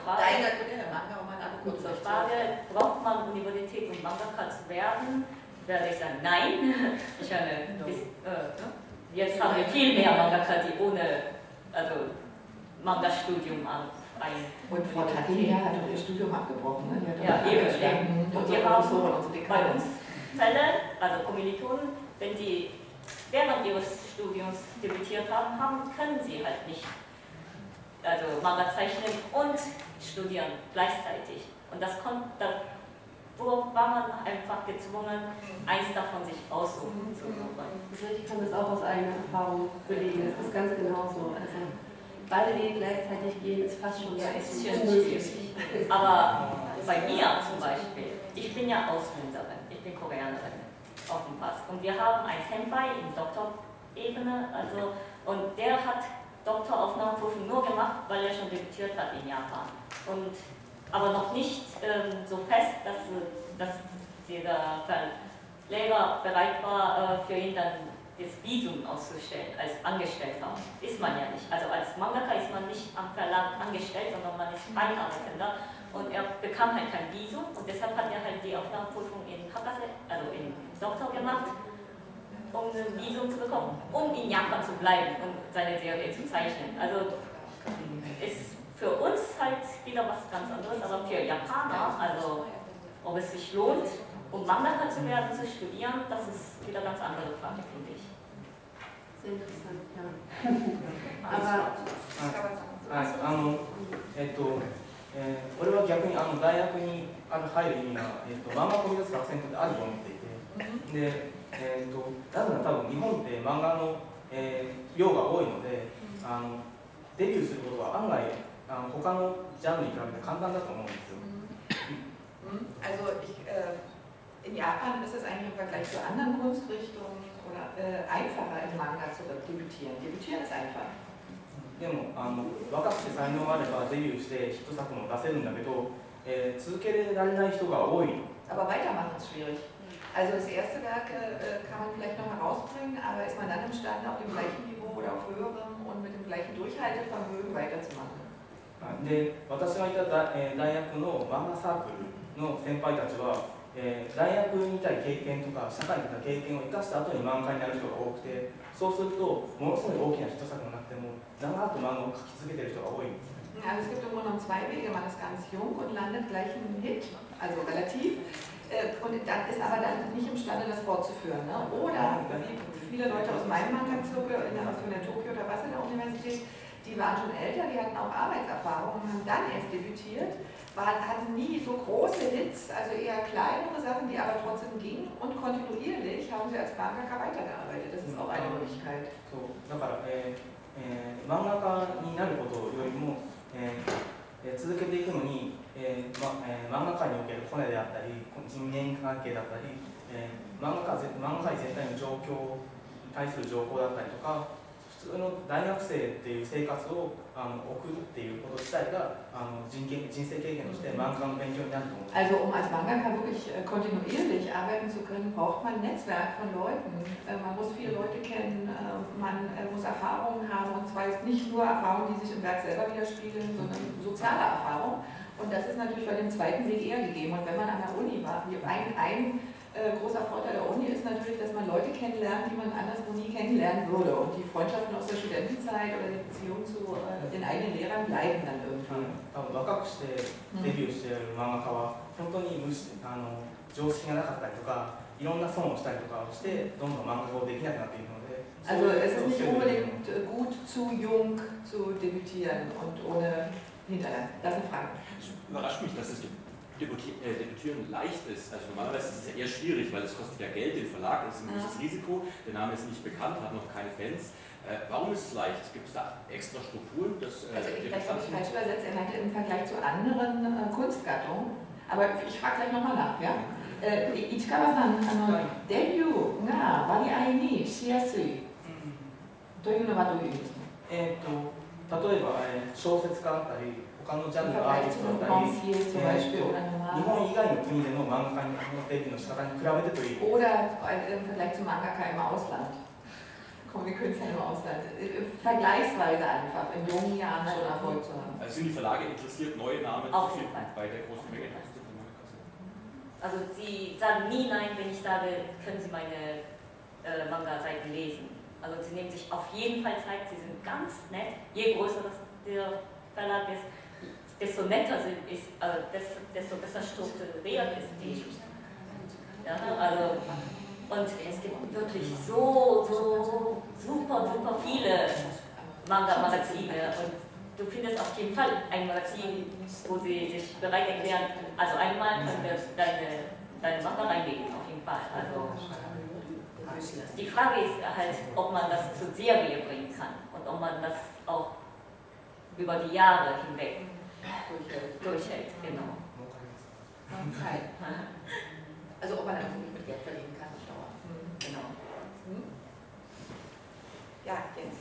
Frage, braucht man Universität, um Mangaka zu werden, werde ich sagen, nein. Ich habe jetzt haben wir viel mehr Mangaka, die ohne Manga-Studium Und Frau Takia hat ihr Studium abgebrochen, ne? Ja, eben. Und wir haben bei uns Fälle, also Kommilitonen, wenn die während ihres Studiums debütiert haben, können sie halt nicht Manga zeichnen und studieren gleichzeitig. Und da war man einfach gezwungen, eins davon sich aussuchen zu wollen. Ich kann das auch aus eigener Erfahrung belegen. Es ist ganz genauso. Also beide Wege gleichzeitig gehen ist fast schon schwierig. Aber bei mir zum Beispiel, ich bin ja Ausländerin, ich bin Koreanerin auf dem Pass. Und wir haben einen Senpai in Doktorebene, und der hat Doktoraufnahmeprüfung nur gemacht, weil er schon debütiert hat in Japan. Aber noch nicht so fest, dass der Lehrer bereit war, für ihn dann das Visum auszustellen als Angestellter. Ist man ja nicht. Also als Mangaka ist man nicht am Verlag angestellt, sondern man ist Freiarbeitender. Und er bekam halt kein Visum und deshalb hat er halt die Aufnahmeprüfung in Doktor gemacht, um ein Visum zu bekommen, um in Japan zu bleiben und seine Serie zu zeichnen. Also ist für uns halt wieder was ganz anderes, aber für Japaner, also ob es sich lohnt, um Mangaka zu werden, zu studieren, das ist wieder eine ganz andere Frage, finde ich. Sehr interessant, ja. Aber 俺は逆に大学に入る意味が、漫画を飛び出す学生にとってあると思っていて、でなぜなら多分日本って漫画の、量が多いので、デビューすることは案外他のジャンルに比べて簡単だと思うんですよ。 In Japan ist es eigentlich im Vergleich zu anderen Kunstrichtungen einfacher im Manga zu debütieren. Debütieren ist einfach. でも若くて才能があればデビューしてヒット作も出せるんだけど、続けられない人が多い。 Aber weitermachen ist schwierig. Also das erste Werk kann man vielleicht noch herausbringen, aber ist man dann imstande, auf dem gleichen Niveau oder auf höherem und mit dem gleichen Durchhaltevermögen weiterzumachen? で、私がいた大学の漫画サークルの先輩たちは、大学にいたい経験とか社会にいた経験を生かした後に漫画になる人が多くて、そうするとものすごい大きなヒット作がなくても長く漫画を描き続けている人が多いんです。 Also es gibt im Grunde genommen zwei Wege. Man ist ganz jung und landet gleich einen Hit, also relativ, und dann ist aber dann nicht imstande, das fortzuführen. Ne? Oder wie viele Leute aus meinem Manga-Zirkel, von der Tokio oder Waseda Universität, die waren schon älter, die hatten auch Arbeitserfahrung und haben dann erst debütiert, hatten nie so große Hits, also eher kleinere Sachen, die aber trotzdem gingen, und kontinuierlich haben sie als Mangaka weitergearbeitet. Das ist auch eine Möglichkeit. だから、漫画家になることよりも、続けていくのに、漫画界におけるコネであったり人間関係だったり、漫画界全体の状況に対する情報だったりとか、普通の大学生っていう生活を送るっていうこと自体が人生経験として漫画の勉強になると思う。 Also als Mangaka wirklich kontinuierlich arbeiten zu können, braucht man ein Netzwerk von Leuten. Man muss viele Leute kennen, man muss Erfahrungen haben, und zwar jetzt nicht nur Erfahrungen, die sich im Werk selber widerspiegeln, sondern soziale Erfahrungen. Und das ist natürlich bei dem zweiten Weg eher gegeben. Und wenn man an der Uni war, ein großer Vorteil der Uni ist natürlich, dass man Leute kennenlernt, die man anderswo nie kennenlernen würde. Und die Freundschaften aus der Studentenzeit oder die Beziehung zu den eigenen Lehrern bleiben dann irgendwie. 若くしてデビューしている漫画家は本当に常識がなかったりとか、いろんな損をしたりとかをしてどんどん漫画をできなくなっているので。 Also es ist nicht unbedingt gut, zu jung zu debütieren und ohne Hinterland. Das ist eine Frage. Es überrascht mich, dass es Debütieren leicht ist. Also normalerweise ist es ja eher schwierig, weil es kostet ja Geld, den Verlag, das ist ein gewisses Risiko, der Name ist nicht bekannt, hat noch keine Fans. Warum ist es leicht? Gibt es da extra Strukturen? Also vielleicht habe ich falsch übersetzt, er meinte im Vergleich zu anderen Kunstgattungen, aber ich frage gleich nochmal nach, ja? Ichikawa-san, Debutが割合にしやすいというのはどういう意味ですか？ 例えば小説家だったり他のジャンルのアーティストだったり、日本以外の国での漫画家のデビューの仕方に比べてという。 Oder im Vergleich zum Mangaka im Ausland. Comic-Künstler im Ausland. Vergleichsweise einfach, in jungen Jahren schon Erfolg zu haben. Also sind die Verlage interessiert, neue Namen zu finden bei der großen Menge? Also sie sagen nie nein, wenn ich sage, können Sie meine Manga-Seiten lesen. Also sie nehmen sich auf jeden Fall Zeit, sie sind ganz nett. Je größer der Verlag ist, desto netter ist, desto besser strukturiert ist die. Ja, also, und es gibt wirklich so super viele Manga-Magazine und du findest auf jeden Fall ein Magazin, wo sie sich bereit erklären, also einmal können wir deine Manga reinlegen, auf jeden Fall. Also, die Frage ist halt, ob man das zur Serie bringen kann und ob man das auch über die Jahre hinweg durchhält. Genau. Okay. Also ob man einfach nicht mit Geld verdienen kann auf Dauer. Genau. Ja, jetzt.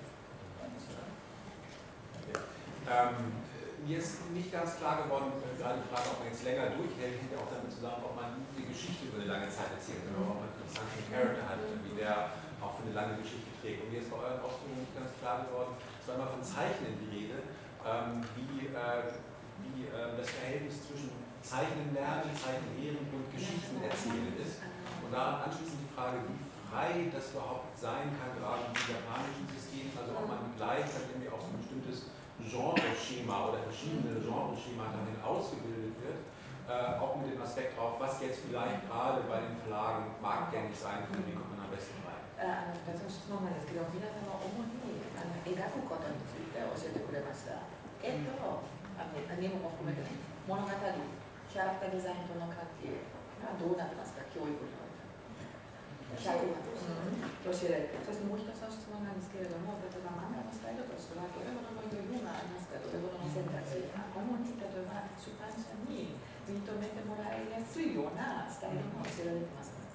Mir ist nicht ganz klar geworden, gerade die Frage, ob man jetzt länger durchhält, hängt ja auch damit zusammen, ob man die Geschichte über eine lange Zeit erzählt oder ob man einen interessanten Charakter hat, wie der auch für eine lange Geschichte trägt. Und mir ist bei euren Ausführungen nicht ganz klar geworden, es war immer von Zeichnen die Rede, wie das Verhältnis zwischen Zeichnen lernen, Zeichnen lehren und Geschichten erzählen ist. Und daran anschließend die Frage, wie frei das überhaupt sein kann, gerade im japanischen System, also ob man gleich halt irgendwie auch so ein bestimmtes Genre-Schema oder verschiedene Genre-Schemata hin ausgebildet wird, auch mit dem Aspekt drauf, was jetzt vielleicht gerade bei den Verlagen marktgängig sein könnte, wie kommt man am besten rein? 2つ質問なんですけど、皆様主に描くことについて教えてくれました。アニメも含めて物語、キャラクターデザインとの関係がどうなってますか、教育において。教えられて、そしてもう一つの質問なんですけれども、例えば漫画のスタイルとしてはどれほどの余裕がありますか、どれほどの選択肢が主に例えば出版社に認めてもらいやすいようなスタイルも教えられてますか。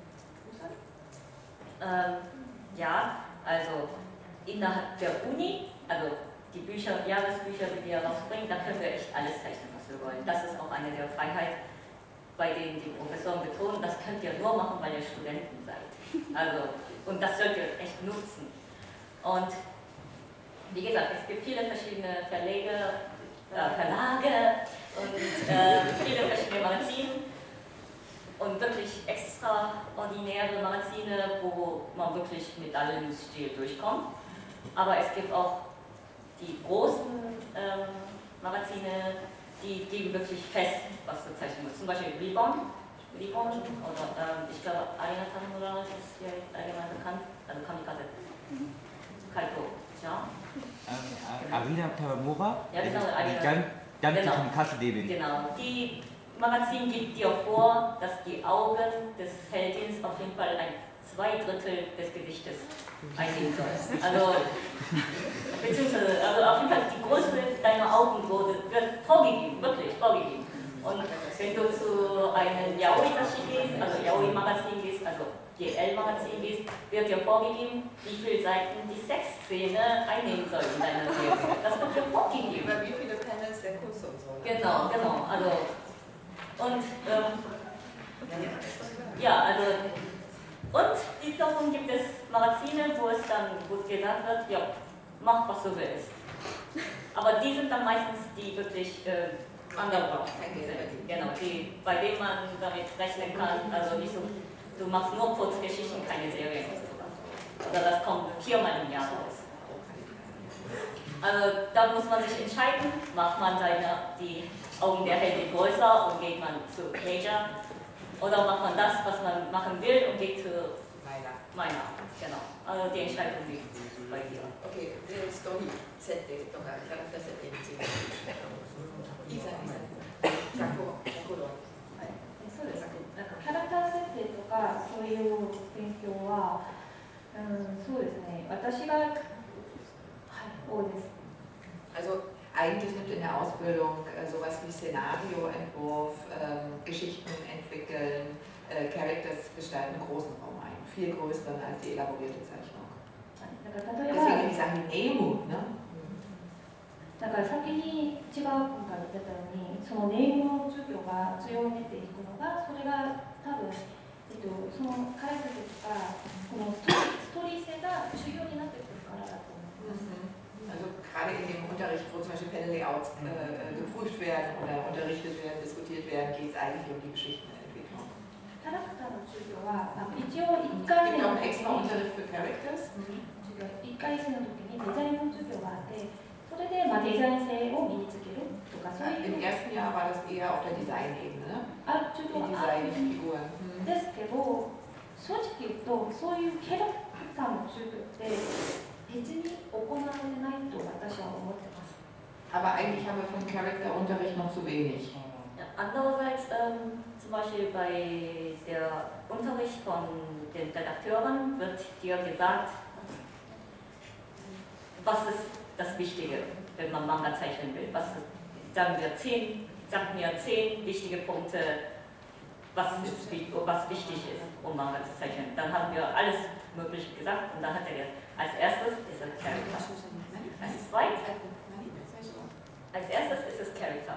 Ja, also innerhalb der Uni, also die Bücher, Jahresbücher, die wir rausbringen, da können wir echt alles zeichnen, was wir wollen. Das ist auch eine der Freiheiten, bei denen die Professoren betonen, das könnt ihr nur machen, weil ihr Studenten seid. Also, und das sollt ihr echt nutzen. Und wie gesagt, es gibt viele verschiedene Verlage und viele verschiedene Magazine. Und wirklich extraordinäre Magazine, wo man wirklich mit allem Stil durchkommt. Aber es gibt auch die großen Magazine, die geben wirklich fest, was du zeichnen musst. Zum Beispiel Ribbon oder ich glaube Arina Tamura ist hier allgemein bekannt, also Kamikaze. Kaito, ja? Arina Tamura? Ja, genau, Arina. Ganz die Kamikaze Devin. Genau, die Magazin gibt dir vor, dass die Augen des Heldins auf jeden Fall 2/3 des Gewichtes einnehmen sollen. Also, beziehungsweise, also auf jeden Fall die Größe deiner Augen wird vorgegeben, wirklich vorgegeben. Und wenn du zu einem Yaoi-Tashi gehst, also Yaoi-Magazin gehst, also GL-Magazin gehst, wird dir vorgegeben, wie viele Seiten die Sexszene einnehmen soll in deiner Serie. Das wird dir vorgegeben. Über wie viele Panels der Kurs und so. Genau. Also, und wiederum gibt es Magazine, wo es dann gut gesagt wird, ja, mach was du willst. Aber die sind dann meistens die wirklich underground sind. Genau, bei denen man damit rechnen kann, also nicht so, du machst nur Kurzgeschichten, keine Serien oder sowas. Oder das kommt 4-mal im Jahr raus. Also da muss man sich entscheiden, macht man die Augen der Heldin größer und geht man zu Major, oder macht man das, was man machen will und geht zu Minor. Genau. Also die Entscheidung liegt bei dir. Okay, Story, Setting とかキャラクター設定について。いいさん、 そうですね。なんかキャラクター設定とかそういう勉強は、そうですね。私が多いです。 Also eigentlich nimmt in der Ausbildung sowas wie Szenarioentwurf, Geschichten entwickeln, Characters gestalten großen Raum ein. Viel größeren als die elaborierte Zeichnung. Deswegen die Sachen Emu, ne? だから先に違う今回言ってたようにそのネームの授業が強めていくのがそれが多分、その解説とかこのストーリー性が重要になってくるからだと思います。 Also gerade in dem Unterricht, wo zum Beispiel Panel-Layouts geprüft werden oder unterrichtet werden, diskutiert werden, geht es eigentlich um die Geschichtenentwicklung. キャラクターの授業は一応1 Es 回 gibt 生 auch の einen 時 extra に Unterricht für Characters. 1回生の時にデザインの授業があって、それでデザイン性を身につけるとかそういう Im ersten Jahr war das eher auf der Designebene, 授 die 業があるん Designfiguren. ですけど、正直言うとそういうキャラクターの授業って別に行われてないと私は思ってます。 Aber eigentlich haben wir vom Charakterunterricht noch zu wenig. Andererseits zum Beispiel bei der Unterricht von den Redakteuren wird dir gesagt, was ist das Wichtige, wenn man Manga zeichnen will. Sagen mir 10 wichtige Punkte, was wichtig ist, um Manga zu zeichnen. Dann haben wir alles Mögliche gesagt und dann hat er gesagt, als erstes ist es Charakter. Als erstes ist es Charakter.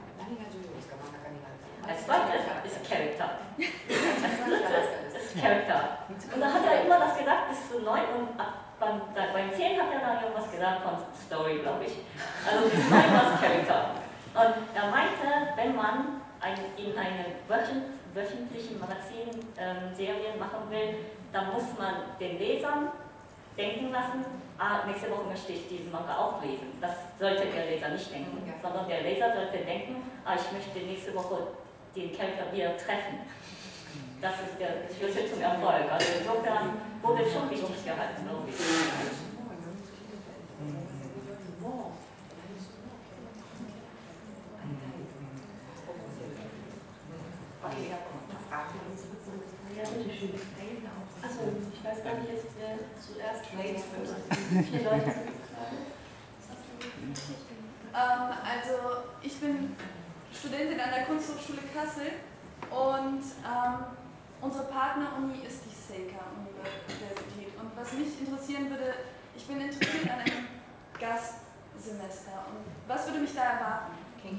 Als zweites ist Charakter. Als drittes ist Charakter. Und dann hat er immer das gesagt bis zu 9 und beim 10 hat er dann irgendwas gesagt von Story, glaube ich. Also bis 9 war es Charakter. Und er meinte, wenn man in einem wöchentlichen Magazin Serien machen will, dann muss man den Lesern denken lassen, nächste Woche möchte ich diesen Manga auch lesen. Das sollte der Leser nicht denken, sondern der Leser sollte denken, ich möchte nächste Woche den Charakter wieder treffen. Das ist der Schlüssel zum Erfolg. Also insofern wurde schon wichtig gehalten, glaube ich. Achso, ich weiß gar nicht jetzt, wer zuerst spricht. 4 Leute sind Also ich bin Studentin an der Kunsthochschule Kassel und unsere Partneruni ist die Seika-Universität. Und was mich interessieren würde, ich bin interessiert an einem Gastsemester. Und was würde mich da erwarten?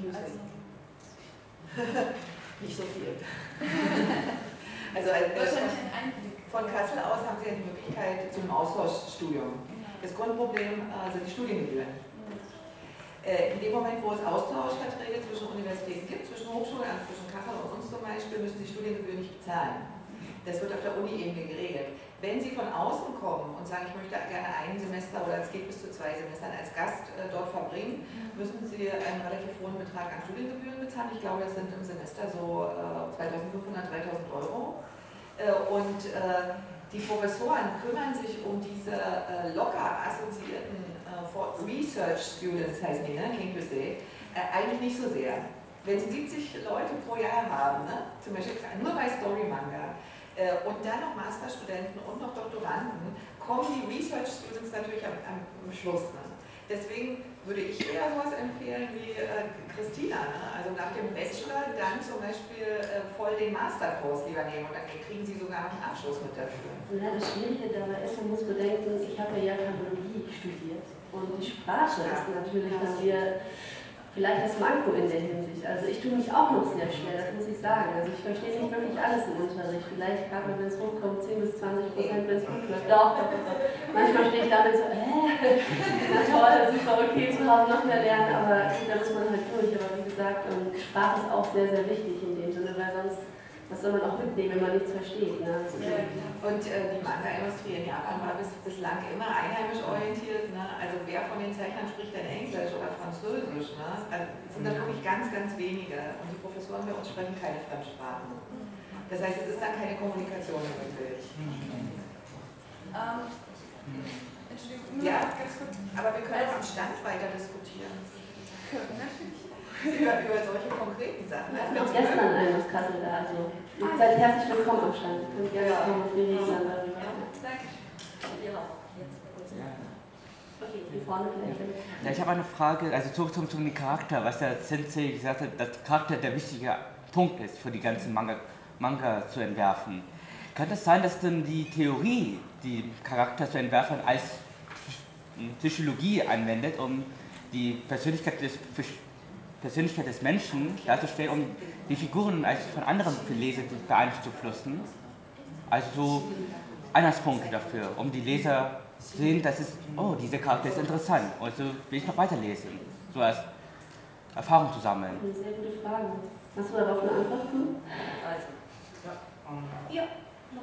Nicht so viel. Wahrscheinlich ein Einblick. Von Kassel aus haben Sie ja die Möglichkeit zum Austauschstudium. Das Grundproblem sind die Studiengebühren. In dem Moment, wo es Austauschverträge zwischen Universitäten gibt, zwischen Hochschulen, also zwischen Kassel und uns zum Beispiel, müssen Sie Studiengebühren nicht bezahlen. Das wird auf der Uni-Ebene geregelt. Wenn Sie von außen kommen und sagen, ich möchte gerne ein Semester oder es geht bis zu 2 Semestern als Gast dort verbringen, müssen Sie einen relativ hohen Betrag an Studiengebühren bezahlen. Ich glaube, das sind im Semester so 2.500, 3.000 Euro. Und die Professoren kümmern sich um diese locker assoziierten Research Students, heißen die, ne? Eigentlich nicht so sehr. Wenn Sie 70 Leute pro Jahr haben, ne? Zum Beispiel nur bei Story Manga, und dann noch Masterstudenten und noch Doktoranden, kommen die Research Students natürlich am Schluss. Ne? Deswegen würde ich eher sowas empfehlen wie Christina. Ne? Also nach dem Bachelor dann zum Beispiel voll den Masterkurs lieber nehmen und dann kriegen Sie sogar noch einen Abschluss mit dafür. Ja, das Schwierige dabei ist, man muss bedenken, ich habe ja Japanologie studiert und die Sprache ist natürlich dann wieder vielleicht das Manko in der Hinsicht. Also ich tue mich auch noch sehr schwer, das muss ich sagen. Also ich verstehe nicht wirklich alles im Unterricht. Vielleicht gerade wenn es hochkommt, 10 bis 20%, wenn es gut läuft. Doch, manchmal stehe ich damit so, na toll, super, okay, zu Hause noch mehr lernen, aber da muss man halt durch. Aber wie gesagt, Sprache ist auch sehr, sehr wichtig in dem Sinne, weil sonst, was soll man auch mitnehmen, wenn man nichts versteht. Ne? Und die Manga-Industrie in Japan war bislang immer einheimisch orientiert. Ne? Also wer von den Zeichnern spricht denn Englisch oder Französisch? Ne? Also sind das wirklich ganz, ganz wenige. Und die Professoren bei uns sprechen keine Fremdsprachen. Das heißt, es ist dann keine Kommunikation möglich. Entschuldigung, Ja, ganz kurz. aber wir können auch am Stand weiter diskutieren. Natürlich. Über solche konkreten Sachen. Wir hatten auch gestern einen aus Kassel da, also ihr seid herzlich willkommen am Stand. Könnt gerne kommen und wir reden dann darüber. Danke. Okay, hier vorne vielleicht. Ja, ich habe eine Frage, also zurück zum Charakter, was der Sensei gesagt hat, dass Charakter der wichtige Punkt ist, für die ganzen Manga zu entwerfen. Kann es sein, dass dann die Theorie, die Charakter zu entwerfen, als Psychologie anwendet, um die Persönlichkeit des Menschen darzustellen, um die Figuren als von anderen Leser beeinflussen? Also so Anhaltspunkte dafür, um die Leser zu sehen, dass es, oh, dieser Charakter ist interessant, also will ich noch weiterlesen, so als Erfahrung zu sammeln. Eine sehr gute Frage. Hast du darauf eine Antwort? Also, いや、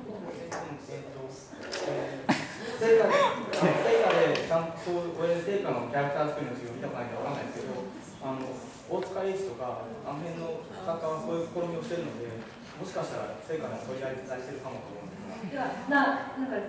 成果でちゃんとこれで成果のキャラクター作りの授業見たことないんでわかんないですけど、大塚栄一とかあの辺の作家はそういう試みをしてるので、もしかしたら成果の取り合いしてるかもと思うんですが。 なんか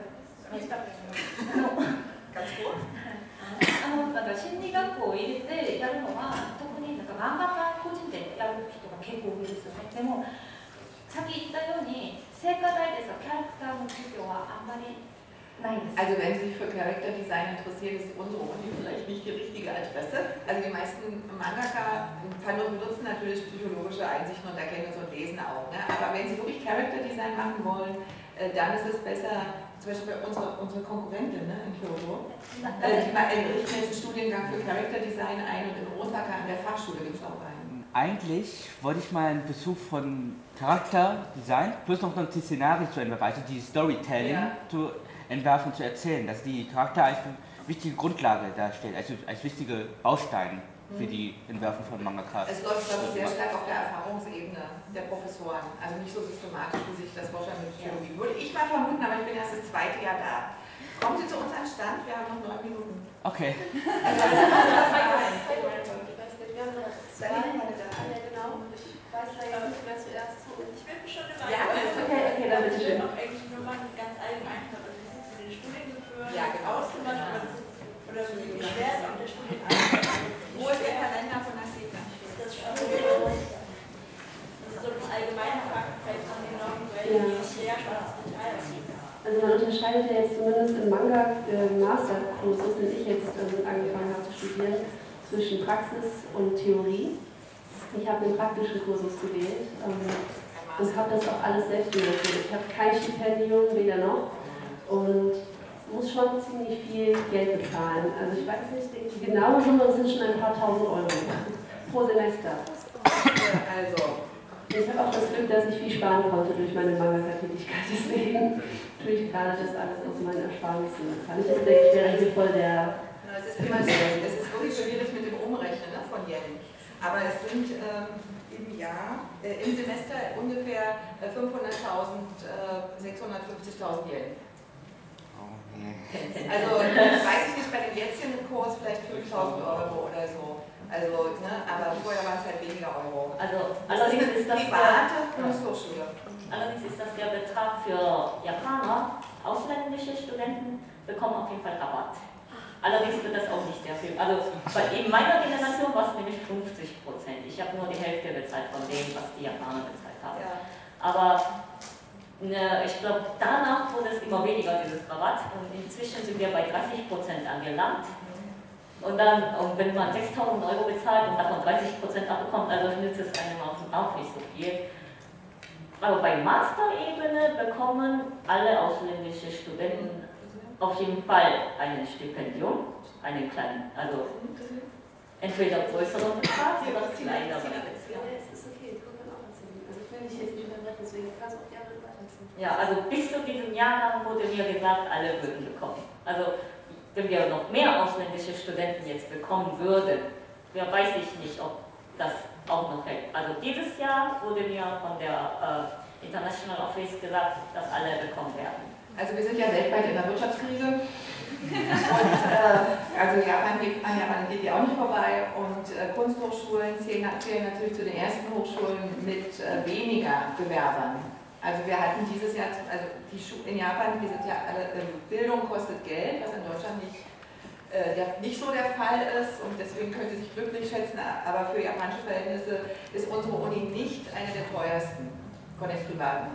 だから心理学校を入れてやるのは特になんか漫画家個人でやる人が結構多いですよね。でもさっき言ったように聖火台でさキャラクターの授業はあんまりないです。 Also wenn Sie sich für Charakterdesign interessieren, ist unsere Uni vielleicht nicht die richtige Adresse. Also die meisten Mangaka benutzen natürlich psychologische Einsichten und Erkenntnisse und lesen auch. Ne? Aber wenn Sie wirklich Charakterdesign machen wollen, dann ist es besser, zum Beispiel bei unsere Konkurrentin ne, in Kyoto, die richten jetzt einen Studiengang für Charakterdesign ein und in Osaka an der Fachschule gibt es auch einen. Eigentlich wollte ich mal einen Besuch von Charakterdesign plus noch ein Szenario zu entwerfen, also die Storytelling zu entwerfen, zu erzählen, dass die Charakter als wichtige Grundlage darstellt, also als wichtige Baustein für die Entwerfen von Mangakas. Es läuft, glaube ich, sehr stark auf der Erfahrungsebene der Professoren, also nicht so systematisch, wie sich das vorstellen mit Psychologie. Würde ich mal vermuten, aber ich bin erst das zweite Jahr da. Kommen Sie zu uns an den Stand, wir haben noch 9 Minuten. Okay. Wir haben noch 2 Minuten da. Genau. Ich weiß leider nicht, wer zuerst holt. Ich bin schon immer. Ja, okay, dann bitte schön. Auch eigentlich nur mal ganz allgemein für den Studiengebühren ausgemacht oder für die Beschwerden und der Studiengang. Wo ist der Kalender von der SECA? Das ist so ein allgemeiner Faktenfeld von den Normen, weil die schwer schon das Detail aussieht. Also man unterscheidet ja jetzt zumindest im Manga-Masterkursus, den ich jetzt angefangen habe zu studieren, zwischen Praxis und Theorie. Ich habe den praktischen Kursus gewählt und habe das auch alles selbst finanziert. Ich habe kein Stipendium, weder noch, und muss schon ziemlich viel Geld bezahlen. Also ich weiß nicht, die genaue Summe sind schon ein paar tausend Euro pro Semester. Also. Ich habe auch das Glück, dass ich viel sparen konnte durch meine Manga-Tätigkeit. Deswegen tue ich gerade das alles aus meinen Ersparnissen bezahlen. Das ist, denke ich, der Regel voll der... Es ist immer so, es ist wirklich schwierig mit dem Umrechnen ne, von Yen. Aber es sind im Jahr, im Semester ungefähr 500.000, 650.000 Yen. Also weiß ich nicht, bei dem jetzigen Kurs vielleicht 5.000 Euro oder so. Also, ne, aber vorher waren es halt weniger Euro. Also allerdings ist das der Betrag für Japaner, ausländische Studenten bekommen auf jeden Fall Rabatt. Allerdings wird das auch nicht sehr viel. Also in meiner Generation war es nämlich 50%. Ich habe nur die Hälfte bezahlt von dem, was die Japaner bezahlt haben. Ja. Aber ich glaube, danach wurde es immer weniger, dieses Rabatt. Und inzwischen sind wir bei 30% angelangt. Und dann, wenn man 6.000 Euro bezahlt und davon 30% abbekommt, also nützt es einem auch nicht so viel. Aber bei Master-Ebene bekommen alle ausländischen Studenten auf jeden Fall ein Stipendium, einen kleinen, also entweder größeren Betrag oder kleineren. Ja, also bis zu diesem Jahrgang wurde mir gesagt, alle würden bekommen. Also wenn wir noch mehr ausländische Studenten jetzt bekommen würden, weiß ich nicht, ob das auch noch hält. Also dieses Jahr wurde mir von der International Office gesagt, dass alle bekommen werden. Also wir sind ja weltweit in der Wirtschaftskrise und also Japan geht ja auch nicht vorbei und Kunsthochschulen zählen natürlich zu den ersten Hochschulen mit weniger Bewerbern. Also wir hatten dieses Jahr, also in Japan, wir sind ja alle, Bildung kostet Geld, was in Deutschland nicht so der Fall ist und deswegen können Sie sich glücklich schätzen, aber für japanische Verhältnisse ist unsere Uni nicht eine der teuersten von den privaten.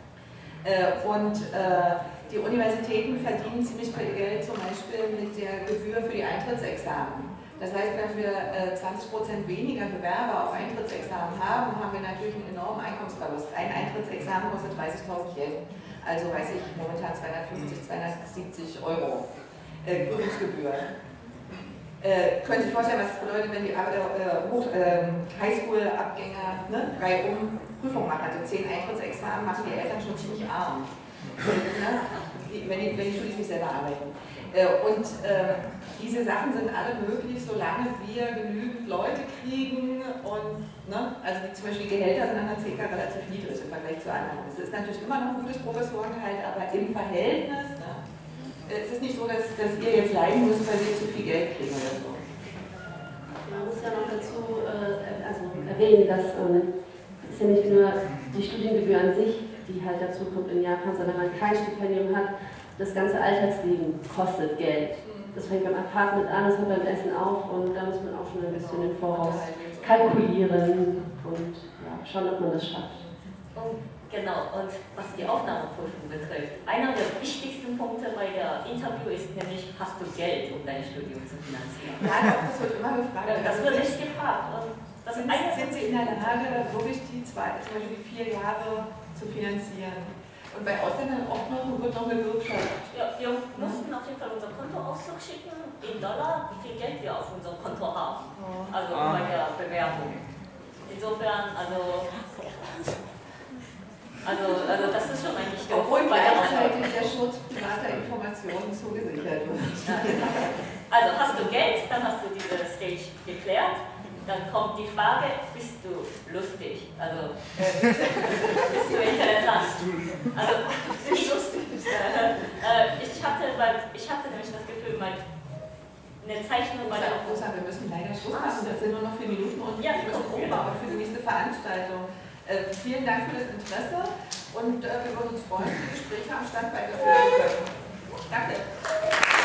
Die Universitäten verdienen ziemlich viel Geld zum Beispiel mit der Gebühr für die Eintrittsexamen. Das heißt, wenn wir 20% weniger Bewerber auf Eintrittsexamen haben, haben wir natürlich einen enormen Einkommensverlust. Ein Eintrittsexamen kostet 30.000 Yen, also weiß ich momentan 250, 270 Euro Prüfungsgebühr. Können Sie sich vorstellen, was das bedeutet, wenn die Highschool-Abgänger ne, Reihe Prüfung machen, also 10 Eintrittsexamen machen die Eltern schon ziemlich arm. wenn die Studis nicht selber arbeiten. Diese Sachen sind alle möglich, solange wir genügend Leute kriegen und, ne, also zum Beispiel Gehälter sind an der CK relativ niedrig im Vergleich zu anderen. Es ist natürlich immer noch ein gutes Professorengehalt, aber im Verhältnis, ne, es ist nicht so, dass ihr jetzt leiden müsst, weil wir zu viel Geld kriegen oder so. Man muss ja noch dazu erwähnen, dass es ja nicht nur die Studiengebühr an sich, die halt dazu kommt in Japan, sondern wenn man kein Stipendium hat, das ganze Alltagsleben kostet Geld. Das fängt beim Apartment an, das hört beim Essen auf und da muss man auch schon ein bisschen im Voraus kalkulieren und ja, schauen, ob man das schafft. Und genau, und was die Aufnahmeprüfung betrifft, einer der wichtigsten Punkte bei der Interview ist nämlich, hast du Geld, um dein Studium zu finanzieren? Ja, das wird immer gefragt. Das wird nicht gefragt. Und das sind Sie in der Lage, wirklich die 4 Jahre zu finanzieren? Und bei Ausländern oft noch wird noch eine Wirtschaft. Ja, wir mussten auf jeden Fall unser Kontoauszug schicken in Dollar, wie viel Geld wir auf unserem Konto haben. Also bei der Bewerbung. Insofern, also das ist schon eigentlich der Obwohl gleichzeitig der Schutz privater Informationen zugesichert wird. Also hast du Geld, dann hast du diese Stage geklärt. Dann kommt die Frage, bist du lustig? Also, bist du interessant? Also, nicht lustig. Ich hatte nämlich das Gefühl, eine Zeichnung bei der... Wir müssen leider Schluss machen, das sind nur noch 4 Minuten und ja, wir müssen umbauen für die nächste Veranstaltung. Vielen Dank für das Interesse und wir würden uns freuen, die Gespräche am Stand weiterführen zu können. Danke.